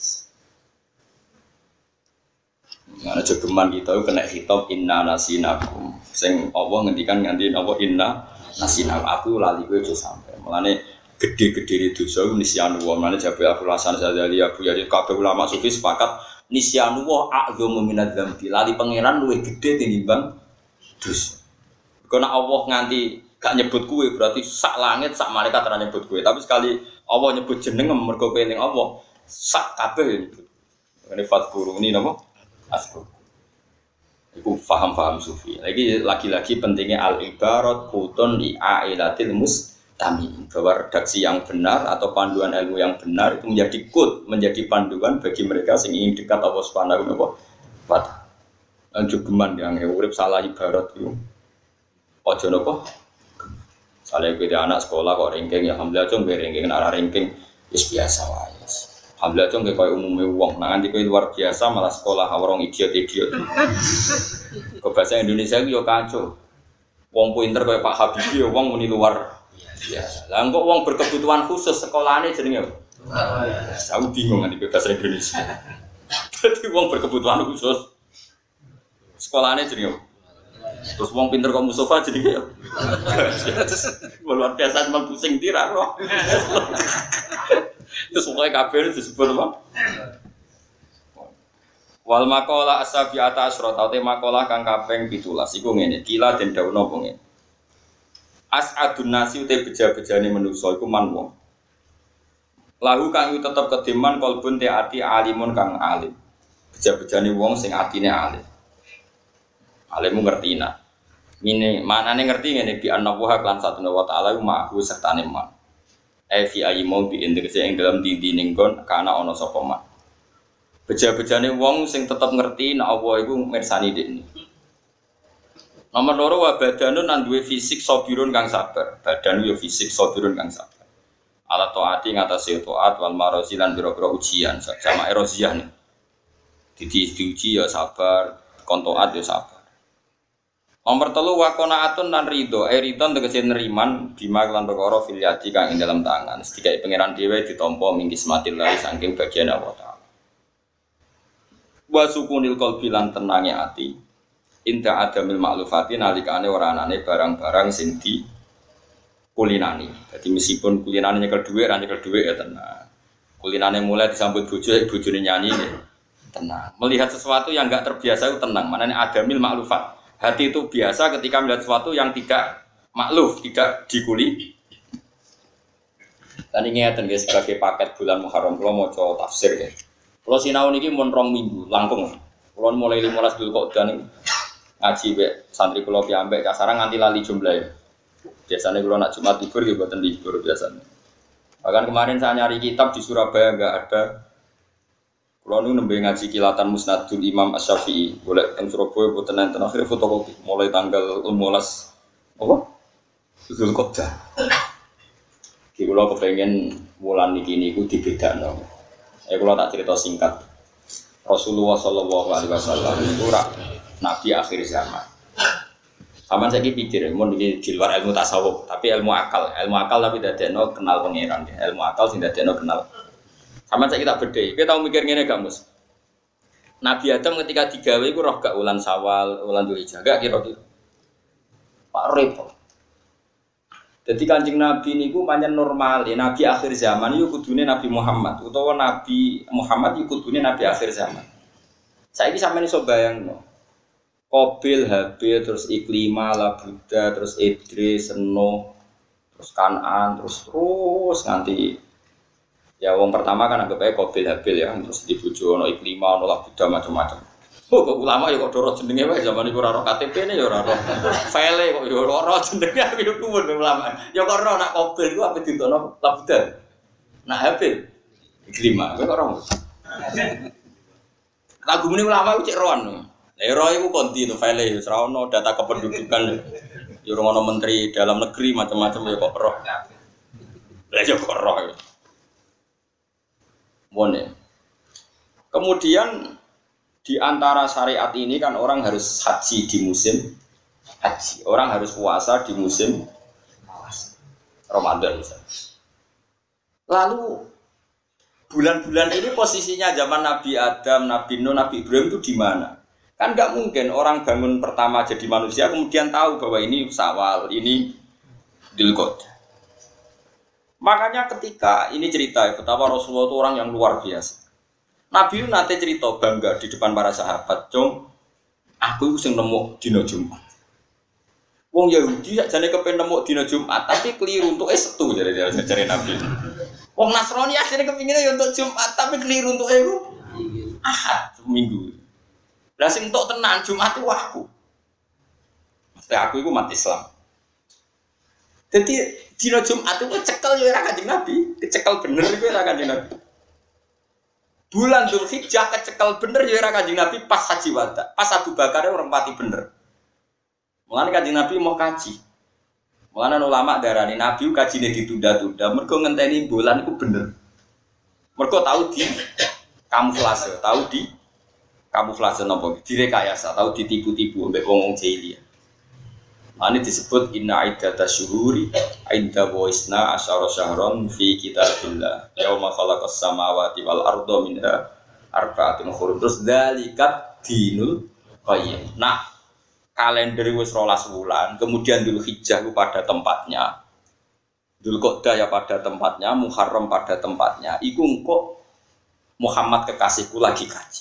Mana jogeman kita itu kena hitop inna nasinakum. Sing Allah ngendikan nganti apa inna nasinakum. Aku lali kowe aja sampe. Mulane gede-gede dosa nisyanu wa. Mulane jabe aku Hasan Sadzali Abu Yazid kabeh ulama sufi sepakat nisyanu wa a'dzamu minadz dzambi. Lali pangeran luwih gede tinimbang dosa. Kok nek Allah nganti gak nyebut kowe berarti sak langit sak malaikat ora nyebut kowe. Tapi sekali Allah nyebut jeneng mergo kowe ning Allah sak kabeh nyebut. Ini fatguru ini napa? Asbab. Iku faham-faham sufi. Lagi lagi-lagi pentingnya al-ibarat qutun li ailatil mustami. Bahwa redaksi yang benar atau panduan ilmu yang benar itu menjadi qut, menjadi panduan bagi mereka yang ingin dekat Allah Subhanahu wa taala. Anjugeman yang urip salah ibarat itu. Ojo napa? Saleh kowe anak sekolah kok ranking ya alhamdulillah cung ranking nek ranking wis biasa wae. Alhamdulillah cung koyo umume wong, nah nganti kowe luar biasa malah sekolah orang idiot-idiot. Kok bahasa Indonesia ku yo kacau. Wong pinter koyo Pak Habibie yo wong muni luar biasa. Lah kok wong berkebutuhan khusus sekolahane jenenge apa? Aku bingung nganti bahasa Indonesia. Dadi wong berkebutuhan khusus sekolahane jenenge apa? Terus wong pinter kok Mustafa jenenge apa? Luar biasa cuma pusing tirak kok. Terus pokoknya kabel disebut apa? Wal makola asabiata asrota te makola kang kaping pitulas iku ngene kila den dawuh napa ngene As'adun nasi te beja-bejane manusa iku man wong lahu kang tetep kedeman kalbun te ati alimun kang alim beja-bejane wong sing atine alim alimu ngertina ngene manane ngerti ngene bi annallaha lan satuna wa ta'ala ma'hu sertane man e fi ayi mau bi indekse ing dalam dindi ning kon kana ana sapa man beja-bejane wong sing tetep ngerti nek Allah iku mirsani dekne. Nomor loro wa badanun nang duwe fisik sabirun kang sabar. Badan yo fisik sabirun kang sabar. Ala taati ngatasi taat wal marozi lan biro-biro ujian sama erosiah nih. Didi diuji ya sabar, kon taat ya sabar. Nomor telu wa qanaatun lan ridho. Eh ridho tegese neriman bima lan perkara fil yadi kang ing dalam tangan. Sedikae pangeran dhewe ditampa mingkis matilah saking bagian Allah Ta'ala. Wa sukunil qalbi lan tenange ati inda adamil ma'lufati nalikane ora anane barang-barang sing di kulinani. Jadi meskipun kulinane nyekel dhuwit, ra nyekel dhuwit ya tenang. Kulinane mulai disambut bojo, bojone nyanyi ya tenang. Melihat sesuatu yang enggak terbiasa itu tenang. Maknanya adamil ma'lufat. Hati itu biasa ketika melihat sesuatu yang tidak makluf, tidak dikuli. Dan ini ngeten guys, sebagai paket bulan Muharram kula maca tafsir ya. Kula sinau niki mun rong minggu langkung. Kula mulai lima belas Dzulqa'dah niku ngaji be santri kula piyambak kasaran nganti lali jumlahe. Biasanya kula nak Jumat libur ya mboten libur biasanya. Bahkan kemarin saya nyari kitab di Surabaya enggak ada. Kula nu nembe ngaji Kilatan Musnadul Imam Asy-Syafi'i. Golek teng Surabaya mboten enten akhire fotokopi mulai tanggal lima belas apa? Dzulqa'dah. Ki kula kepengin wulan niki niku dibedakno. Ya kula tak cerita singkat. Rasulullah sallallahu alaihi wasallam itu rak nabi akhir zaman. Saman saiki pikir mun iki di luar ilmu tasawuf, tapi ilmu akal, ilmu akal tapi dadekno kenal pangeran, ilmu akal sing dadekno kenal. Saman saiki tak bedhe. Kowe tau mikir ngene gak, Mus? Nabi Adam ketika digawe iku roh gak wulan Syawal, wulan Dzulhijjah, gak kira-kira. Pak repot. Jadi Kanjeng Nabi niku pancen normal, ya Nabi akhir zaman iku kudune Nabi Muhammad utawa Nabi Muhammad iku kudune Nabi akhir zaman. Saiki sampeyan iso bayangno. Qabil, Habil, terus Iklima, Labuda, terus Idris, Nuh, terus Kan'an, terus terus nganti ya wong pertama kan anggap ae Qabil, Habil ya, terus dibojo ono Iklima, ono Labuda macam-macam. Oh, kok ulama ya kok doro jenenge wae zaman iku ora ora K T P-ne ya ora ora. File kok ya ora ora jenenge aku yo kuwun ulama. Ya kok ora nak Qabil ku ape ditono Labuda. Nak Habil Iklima, kok ora. Lagu muni ulama ku cek roan. Lah ro iku konti to file ya ora ono data kependudukan. Ya ora ono menteri dalam negeri macam-macam ya kok roh. Lah ya kok roh. Mone. Kemudian di antara syariat ini kan orang harus haji di musim haji. Orang harus puasa di musim puasa. Ramadan misalnya. Lalu bulan-bulan ini posisinya zaman Nabi Adam, Nabi Nuh, Nabi Ibrahim itu di mana? Kan nggak mungkin orang bangun pertama jadi manusia kemudian tahu bahwa ini Syawal, ini Dzulqa'dah. Makanya ketika ini cerita betapa Rasulullah itu orang yang luar biasa. Nabi itu nanti cerita bangga di depan para sahabat, "Cung, aku itu sing nemu dina Jumat." Wong Yahudi sakjane kepen nemu dina Jumat, tapi keliru untuk Setu jare jare Nabi. Wong Nasrani asline kepingine ya untuk Jumat, tapi keliru untuk iku Ahad, Minggu. Lah sing entuk tenan Jumat itu aku. Mesti aku iku umat Islam. Jadi dina Jumat itu cekel ya ora Kanjeng Nabi, kecekel bener iku ora Kanjeng Nabi. Bulan Dzulhijjah kecekel bener ya ora Kanjeng Nabi pas haji wada. Pas Abu Bakar orang pati bener. Mulane Kanjeng Nabi mau kaji. Mulane ulama darani Nabi kajine ditunda-tunda mergo ngenteni bulan iku bener. Mergo tahu di kamuflase, tahu di kamuflase napa? Direkayasa, tahu ditipu-tipu mbek wong-wong jahiliyah. Ini disebut inna iddatash syuhuri inda waisna asyara syahron fi kitabillah yauma khalaqas samawati wal arda minha arba'atun hurum. Terus dzalikat dinul qayyim. Nah, kalender wis rolas wulan, kemudian Dzulhijjah ku pada tempatnya. Dzulqa'dah ya pada tempatnya, Muharram pada tempatnya. Iku engko Muhammad kekasihku lagi kaji.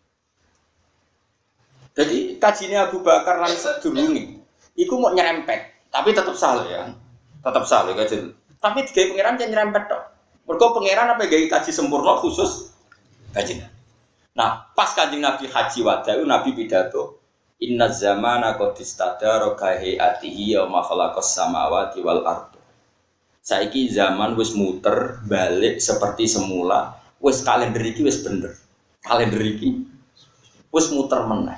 Jadi kajinya Abu Bakar lan sedurunge iku mau nyerempet, tapi tetap salah ya, tetap salah kaji. Tapi digawe pangeran jangan nyerempet tok. Mergo pangeran apa gawe kaji sempurna khusus kaji. Nah, pas Kanjeng Nabi haji wada Nabi pidato, inna zamana qad istadara ka hayatihi wa ma khalaqas samawati wal ardh. Saiki zaman wis muter balik seperti semula, wis kalender iki wis bener. Kalender iki wis muter meneh.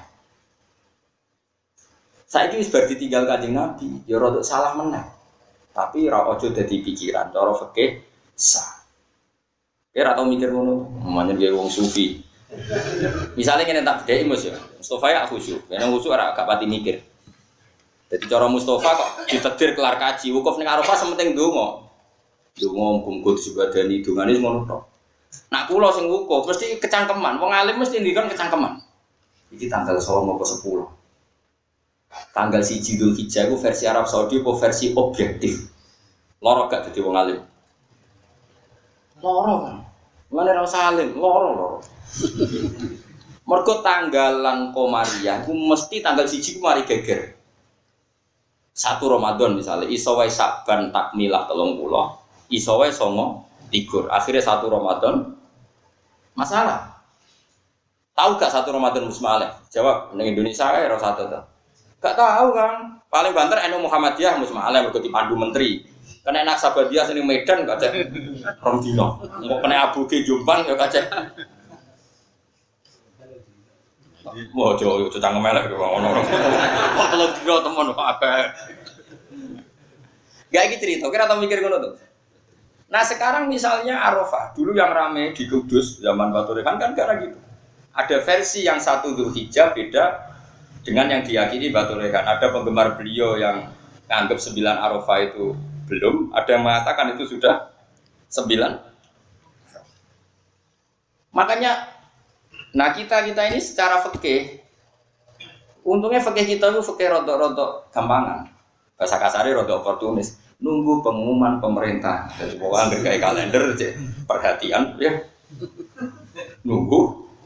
Saiki wis bar ditinggal Kanjeng Nabi, ya rada salah meneh. Tapi ora aja dadi pikiran, cara fikih sah. Ora tau mikir ngono, manyen gawe wong sufi. Misale ngene tak bedheki Mus ya. Mustofa ya khusyuk, nek khusyuk ora gak pati mikir. Jadi cara Mustofa kok ditedir kelar kaji, wukuf ning Arafah sementing ndonga. Ndonga muga-muga disebadani dongane ngono tok. Nak kula sing wukuf mesti kecangkeman, wong alim mesti ngendikon kecangkeman. Iki tanggal songo ke sepuluh. tanggal siji Dzulhijjah iku versi Arab Saudi apa versi objektif. Loro gak dadi wong alim. Loro kan. Mane ra salim, loro-loro. Mergo tanggalan Komariah ku mesti tanggal siji ku mari geger. Satu Ramadan misalnya, iso wae Saban takmilah telung puluh, iso wae songo tigur. Akhirnya satu Ramadan masalah. Tahu gak satu Ramadan musmaleh? Jawab, di Indonesia ya ora satu ta. Gak tahu kan. Paling banter N U Muhammadiyah musmaleh mergo dipandu menteri. Kena enak Sabadiyah sini Medan gak cek rong dino. Engko kena Abu Ge Jombang ya gak cek. Wah, jo jo cangkem elek kok ono-ono. Kok telung dino temen akeh. Gak iki cerita, kira tau mikir ngono tuh. Nah, sekarang misalnya Arafah, dulu yang rame di Kudus zaman Batu Rekan kan karena gitu. Ada versi yang satu Dzulhijjah beda dengan yang diyakini Batu Rekan. Ada penggemar beliau yang nganggap sembilan Arafah itu belum, ada yang mengatakan itu sudah sembilan. Makanya, nah kita kita ini secara fikih, untungnya fikih kita itu fikih rodok-rodok gampangan, bahasa kasarnya rodok oportunis, nunggu pengumuman pemerintah. Jadi pokoknya kayak kalender aja, perhatian ya, nunggu.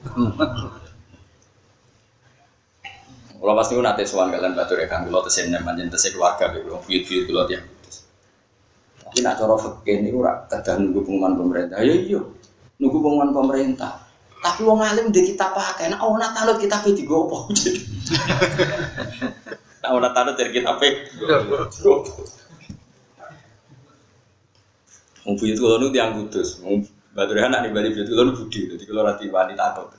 Kalau pasti aku nanti suan kalian Batu Rekan, kalau tersebut manjen tersebut keluarga, kalau buyut-buyut kalau dia. Tapi nak cara fikih niku ora kadang nunggu pengumuman pemerintah. Ya iya, nunggu pengumuman pemerintah. Tapi wong alim ndek kitab pakai, nek ana tanut kitab e digo apa? Nek ana tanut dari kitab e digo. Wong buyut kula niku tiyang Kudus. Wong Batu Rekan nek bali buyut kula niku budi, dadi kula ora diwani takut.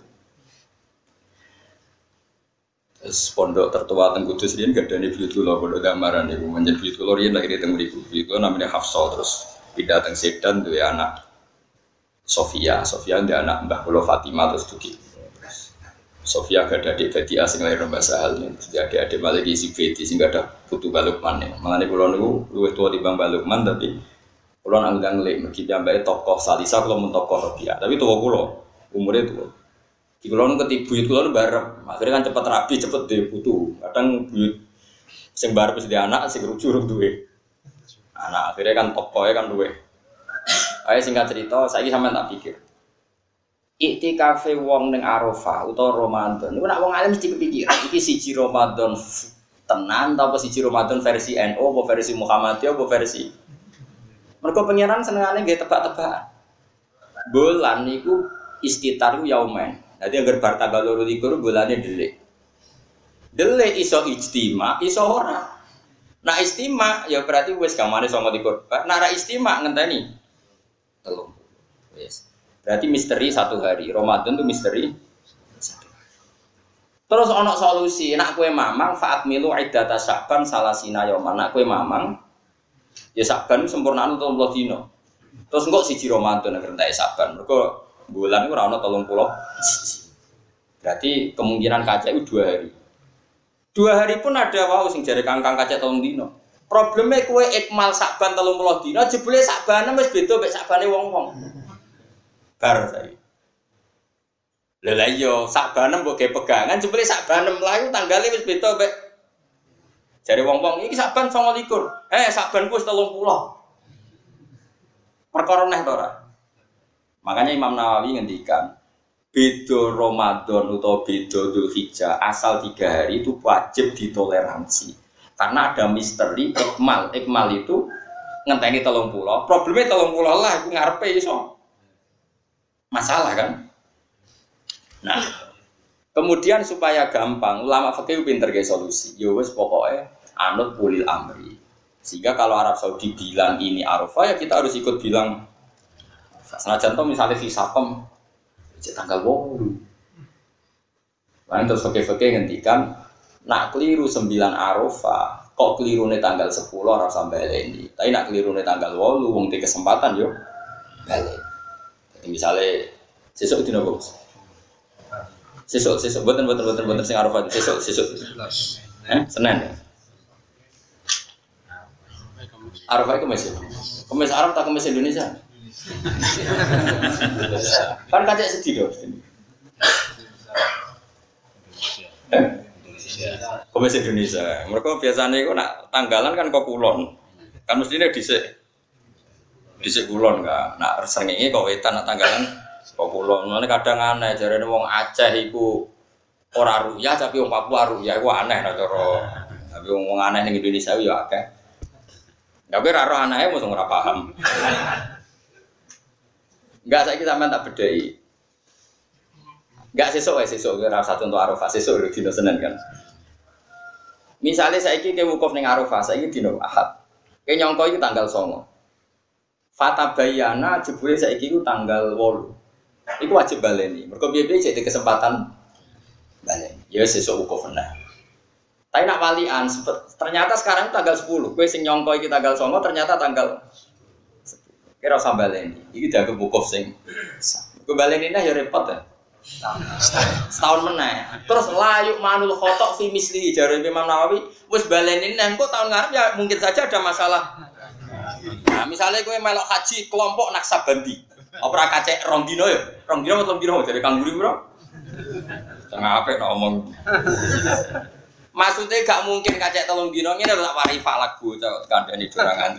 Terus pondok tertua teng Kudus riyen gadane buyut kula pondok Damaran niku menjen buyut kula riyen lahir teng mriku. Buyut kula namanya Hafsah terus pindah teng Sedan duwe anak Sofia. Sofia ndek anak Mbah kula Fatimah terus dugi. Sofia gak ada adik Badi asing lahir Mbah Sahal. Terus adik-adik malah diisi Badi sing gak ada putu Balukman. Mangane kula niku luwih tuwa timbang Balukman tapi kula nang ndang-ndang mergi piyambake tokoh Salisa kula mun tokoh Robiah. Tapi tuwa kula umure tuwa. Di kulon ketibuyut buyut kulon bareng, akhirnya kan cepet rapi, cepet deh putu. Kadang buyut sing bareng di anak, sing rujuk duwe anak. Akhirnya kan tokohnya kan duwe. Ayo singkat cerita, saya ini sampean tak pikir. Iktikafe wong ning Arafah utawa Ramadan. Niku nak wong alim mesti kepikiran. Iki siji Ramadan tenan, apa siji Ramadan versi N U, apa versi Muhammadiyah, apa versi. Mergo pengiran senengane nggih tebak-tebakan. Bulan niku istitaru yaumen. Jadi agar bar tanggal loro likur bulannya delik. Delik iso ijtima, iso ora. Nah istima ya berarti wis gamane songo likur. Nah ra istima ngenteni telung. Wis. Berarti misteri satu hari. Ramadan itu misteri satu hari. Terus ana solusi, nek kowe mamang faat milu iddata Sa'ban salasina yauman. Nek kowe mamang ya Sa'ban sempurnane telung puluh dina. Terus engko siji Ramadan nek entek Sa'ban. Mergo bulan itu rana tolong pulau. Berarti kemungkinan kaca itu dua hari. Dua hari pun ada wow sing jare kangkang kaca tolong dino. Problemnya kue ikmal Sa'ban tolong pulau dino. Jebule Sa'ban wis beda mek Sa'bane wong-wong. Bar saya. Lha iya Sa'ban mbok ge pegangan jebule Sa'ban mlayu tanggale wis beda mek jare wong-wong iki Sa'ban songo likur. Eh Sa'banku wis telung puluh. Perkara neh to ora? Makanya Imam Nawawi ngendikan beda Ramadan atau beda Dzulhijjah asal tiga hari itu wajib ditoleransi karena ada misteri ikmal. Ikmal itu ngenteni telung puluh. Problemnya telung puluh lah itu ngarepe iso masalah kan. Nah kemudian supaya gampang ulama fikih pinter ge solusi. Ya wis pokoke anut ulil amri. Sehingga kalau Arab Saudi bilang ini Arafah ya kita harus ikut bilang. Senajan to misalnya fisakom cek tanggal wolu. Lan terus fakih-fakih ngendikan nak keliru sembilan Arafah, kok kelirune tanggal sepuluh ora usah baleni. Tapi nak kelirune tanggal wolu wong di kesempatan yo bali. Jadi misalnya sesuk dina kok. Sesuk sesuk boten boten boten boten sing Arafah sesuk sesuk. Eh, Senin ya. Arafah itu masih. Kemis Arab tak kemis Indonesia. Kan kacek sedih dong. Indonesia. Kemis Indonesia. Mereka biasanya itu nak tanggalan kan kok kulon. Kan mestinya dhisik dhisik kulon kan. Nak srengenge kok wetan nak tanggalan kok kulon. Mane kadang aneh jarene wong Aceh iku ora ruyah tapi wong Papua ruyah iku aneh nek cara. Tapi wong aneh ning Indonesia yo akeh. Tapi ra roh anae mosok ora paham. Enggak saiki sampean tak bedhei. Enggak sesuk wae sesuk ora satu untuk Arafah sesuk dino Senin kan. Misalnya saiki ke wukuf ning Arafah saiki dino Ahad. Ke nyongko iki tanggal songo. Fata bayana jebule saiki ku tanggal wolu. Iku wajib baleni. Mergo piye-piye cek kesempatan baleni. Ya sesuk wukuf nah. Tapi nak walian ternyata sekarang tanggal sepuluh. Kowe sing nyongko iki tanggal songo ternyata tanggal sepuluh. Kira usah baleni. Iki dianggap wukuf sing kowe baleni nah ya repot ya. Setahun meneh. Terus layuk manul khotok fi misli jare Imam Nawawi wis baleni neh engko tahun ngarep ya mungkin saja ada masalah. Nah, misalnya kowe melok haji kelompok Naksabandi. Apa ora kacek rong dino ya? Rong dino atau dino jare Kang Guri bro. Jangan apik ngomong. Maksudnya gak mungkin kacek telung dino ngene lho tak wari falak bocah kandhane dorangan.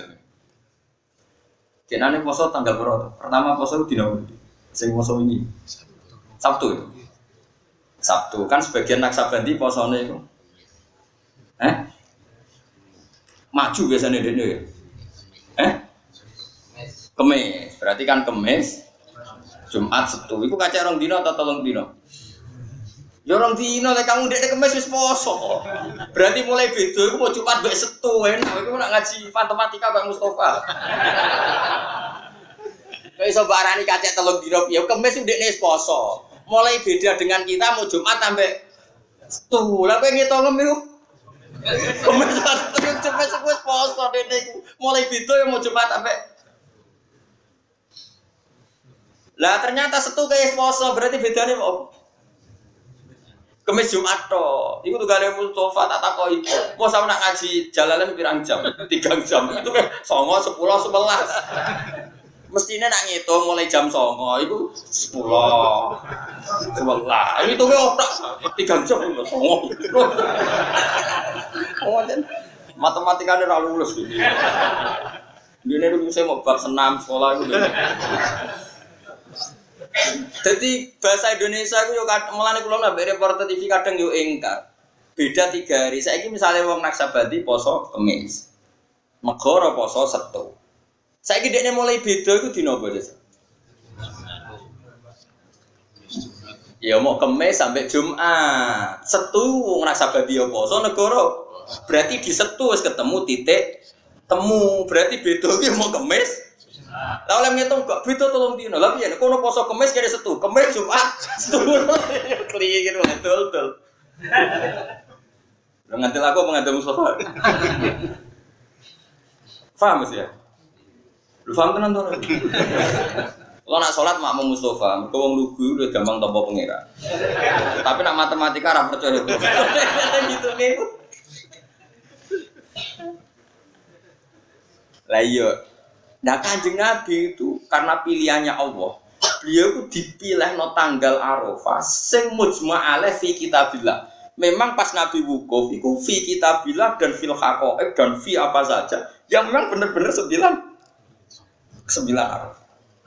Jenane poso tanggal berapa? Pertama poso dino sing poso ini. Sabtu itu. Sabtu kan sebagian Naksabandi posone itu. Eh? Maju biasanya dene ya. Eh? Kemis. Berarti kan Kemis, Jumat, Sabtu. Iku kacek rong dino atau telung dino? Ya rong dino lek kamu ndek Kemis wis poso. Berarti mulai beda iku mau Jumat mbek Sabtu enak. Iku nak ngaji matematika Pak Mustofa. Kayak iso barani kacek telung dino piye? Kemis ndekne wis poso. Mulai beda dengan kita mau Jumat sampai Sabtu. Lah kowe ngitung iku. Kemis terus cepet wis poso dene iku. Mulai beda ya mau Jumat sampai. Lah ternyata Sabtu kayak poso berarti bedane apa? Kemis Jumat to. Iku tugale Mustofa tak takoki. Mau sampe nak ngaji jalalan pirang jam? tiga jam. Itu kan songo, sepuluh, sebelas. Mestinya nak ngitung mulai jam songo itu sepuluh, sebelas. Ini tuh otak tiga jam itu songo. Oh, matematikanya terlalu lulus gitu. Ini dulu saya mau bab senam sekolah itu. Jadi bahasa Indonesia itu yo mulane kula nambah reporter T V kadang yo ingkar. Beda tiga hari. Saiki misalnya wong Naksabandi poso Kemis. Megara poso Sabtu. Saiki dekne mulai beda iku dina apa, Des? Ya mau Kemis sampai Jumat. Setu wong Naksabandi yo poso negara. Berarti di Setu wis ketemu titik temu. Berarti beda iki mau Kemis. Lah oleh ngitung kok beda telung dina. Lah piye kono poso Kemis kene Setu, Kemis Jumat. Setu. Kliye gitu betul-betul. Lah ngantil aku mengadem Mustafa. Paham sih ya? Lu paham tenan to? Kalau nak sholat makmum Mustafa, mergo wong lugu udah gampang tampa pengira. Tapi nak matematika ora percaya itu. Gitu nih. Lah iya. Nah Kanjeng Nabi itu karena pilihannya Allah, beliau itu dipilih no tanggal Arafah sing mujma' alaih fi kitabillah. Memang pas Nabi wukuf itu fi kitabillah dan fil haqaiq dan fi apa saja yang memang benar-benar sembilan sembilan Arafah.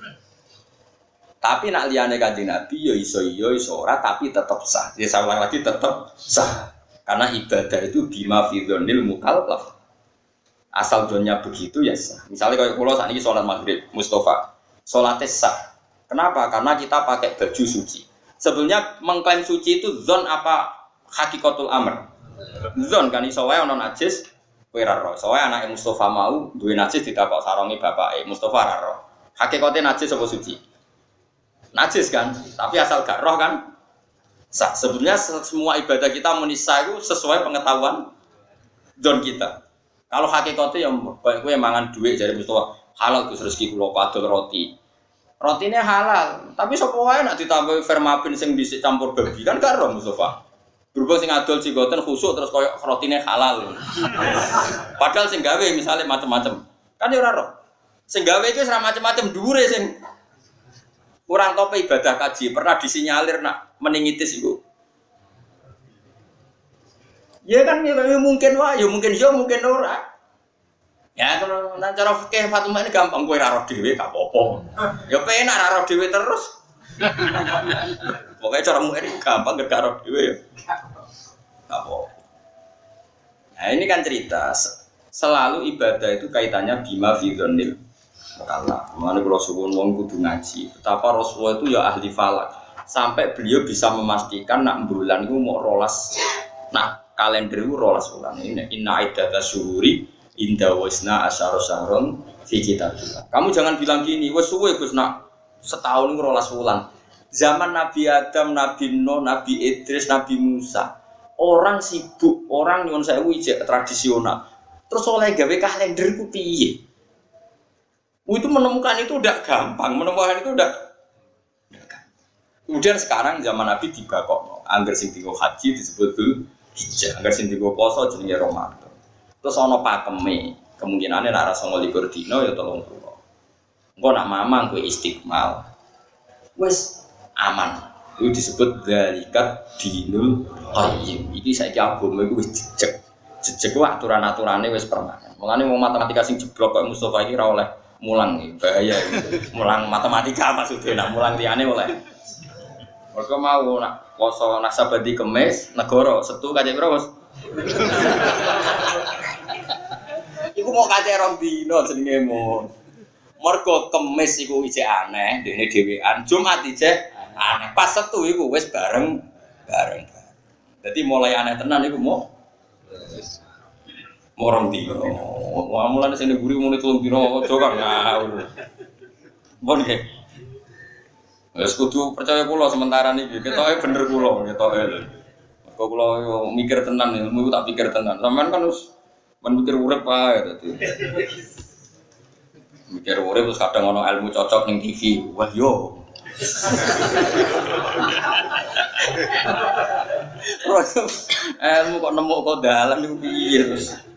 Tapi nak liyane Kanjeng Nabi ya iso iya iso ora tapi tetap sah. Ya saya ulang lagi tetap sah. Karena ibadah itu bima fi dzonil mukallaf. Asal zonnya begitu ya sah. Misalnya kalau pulau saat ini sholat maghrib, Mustafa, sholatnya sah. Kenapa? Karena kita pakai baju suci. Sebenarnya mengklaim suci itu zon apa hakikatul amr. Zon kan iso wae ana najis, kowe ra ro. Soale anake Mustafa mau duwe najis ditakok sarongi bapake, Mustafa ra ro. Hakikate najis apa suci? Najis kan, tapi asal gak roh kan sah. Sebenarnya semua ibadah kita menisah itu sesuai pengetahuan zon kita. Kalau hakikatnya yang baik gue mangan duit dari Mustafa halal terus rezeki kulo padol roti. Rotinya halal, tapi sapa wae nak ditambah vermapin sing dhisik campur babi kan gak ro Mustafa. Berhubung sing adol cigoten khusuk terus koyo rotine halal. Padahal sing gawe misalnya macam-macam. Kan ya ora ro. Sing gawe iki ora macam-macam dhuwure sing kurang tope ibadah kaji pernah disinyalir nak meningitis iku. Ya kan ya, mungkin wae, ya mungkin yo mungkin ora. Ya kalau nang cara fikih Fatimah ini gampang kowe ra roh dhewe gak apa-apa. Ya penak ra roh dhewe terus. Pokoknya cara mukir gampang gak roh dhewe ya. Gak apa-apa. Nah, ini kan cerita selalu ibadah itu kaitannya bima fi dzannil mukallaf. Mulane kula suwun wong kudu ngaji. Betapa Rasulullah itu ya ahli falak. Sampai beliau bisa memastikan nak bulan itu mau rolas. Nah, kalender itu rolas bulan ini. Inna iddatash syuhuri inda wasna asyara syahron fi kitabillah. Kamu jangan bilang gini, wes suwe Gus nak setahun itu rolas bulan. Zaman Nabi Adam, Nabi Nuh, Nabi Idris, Nabi Musa, orang sibuk, orang nyuwun sewu ijek tradisional. Terus oleh gawe kalender ku piye? Itu menemukan itu udah gampang, menemukan itu udah kemudian sekarang zaman Nabi dibakokno, angger sing dienggo haji disebut dul hijjah, angger sing dienggo poso jenenge Ramadan. Terus ana pakeme, kemungkinane nek ora sanga likur dina ya telung puluh. Engko nak mamang kowe istiqmal. Wis aman. Itu disebut dzalikat dinul qayyim. Iki saiki agama iku wis jejeg. Jejeg ku aturan-aturane wis permanen. Mulane wong matematika sing jeblok kok Mustofa iki ora oleh mulang iki, bahaya iki. Mulang matematika maksudnya nak mulang liyane oleh. Mereka mau nak poso nasabadi kemis, negara Setu kacek piro, Mas? Iku mau kacek rong dino jenenge mon. Mergo kemis iku isih aneh, dene dhewean, Jumat isih aneh. Pas Setu iku wis bareng bareng. Dadi mulai aneh tenan iku mau mau rong dino. Wah mulane sing nguri muni telung dino aja kang ngawur. Bon nggih. Wes kudu percaya kula sementara niki, ketoke bener kula, ketoke lho. Kok kula mikir tenan ilmu tak pikir tenan. Sampeyan kan wis men mikir urip ae dadi. Mikir urip terus kadang ono ilmu cocok ning T V. Wah yo. Terus ilmu kok nemu kok dalan niku piye terus.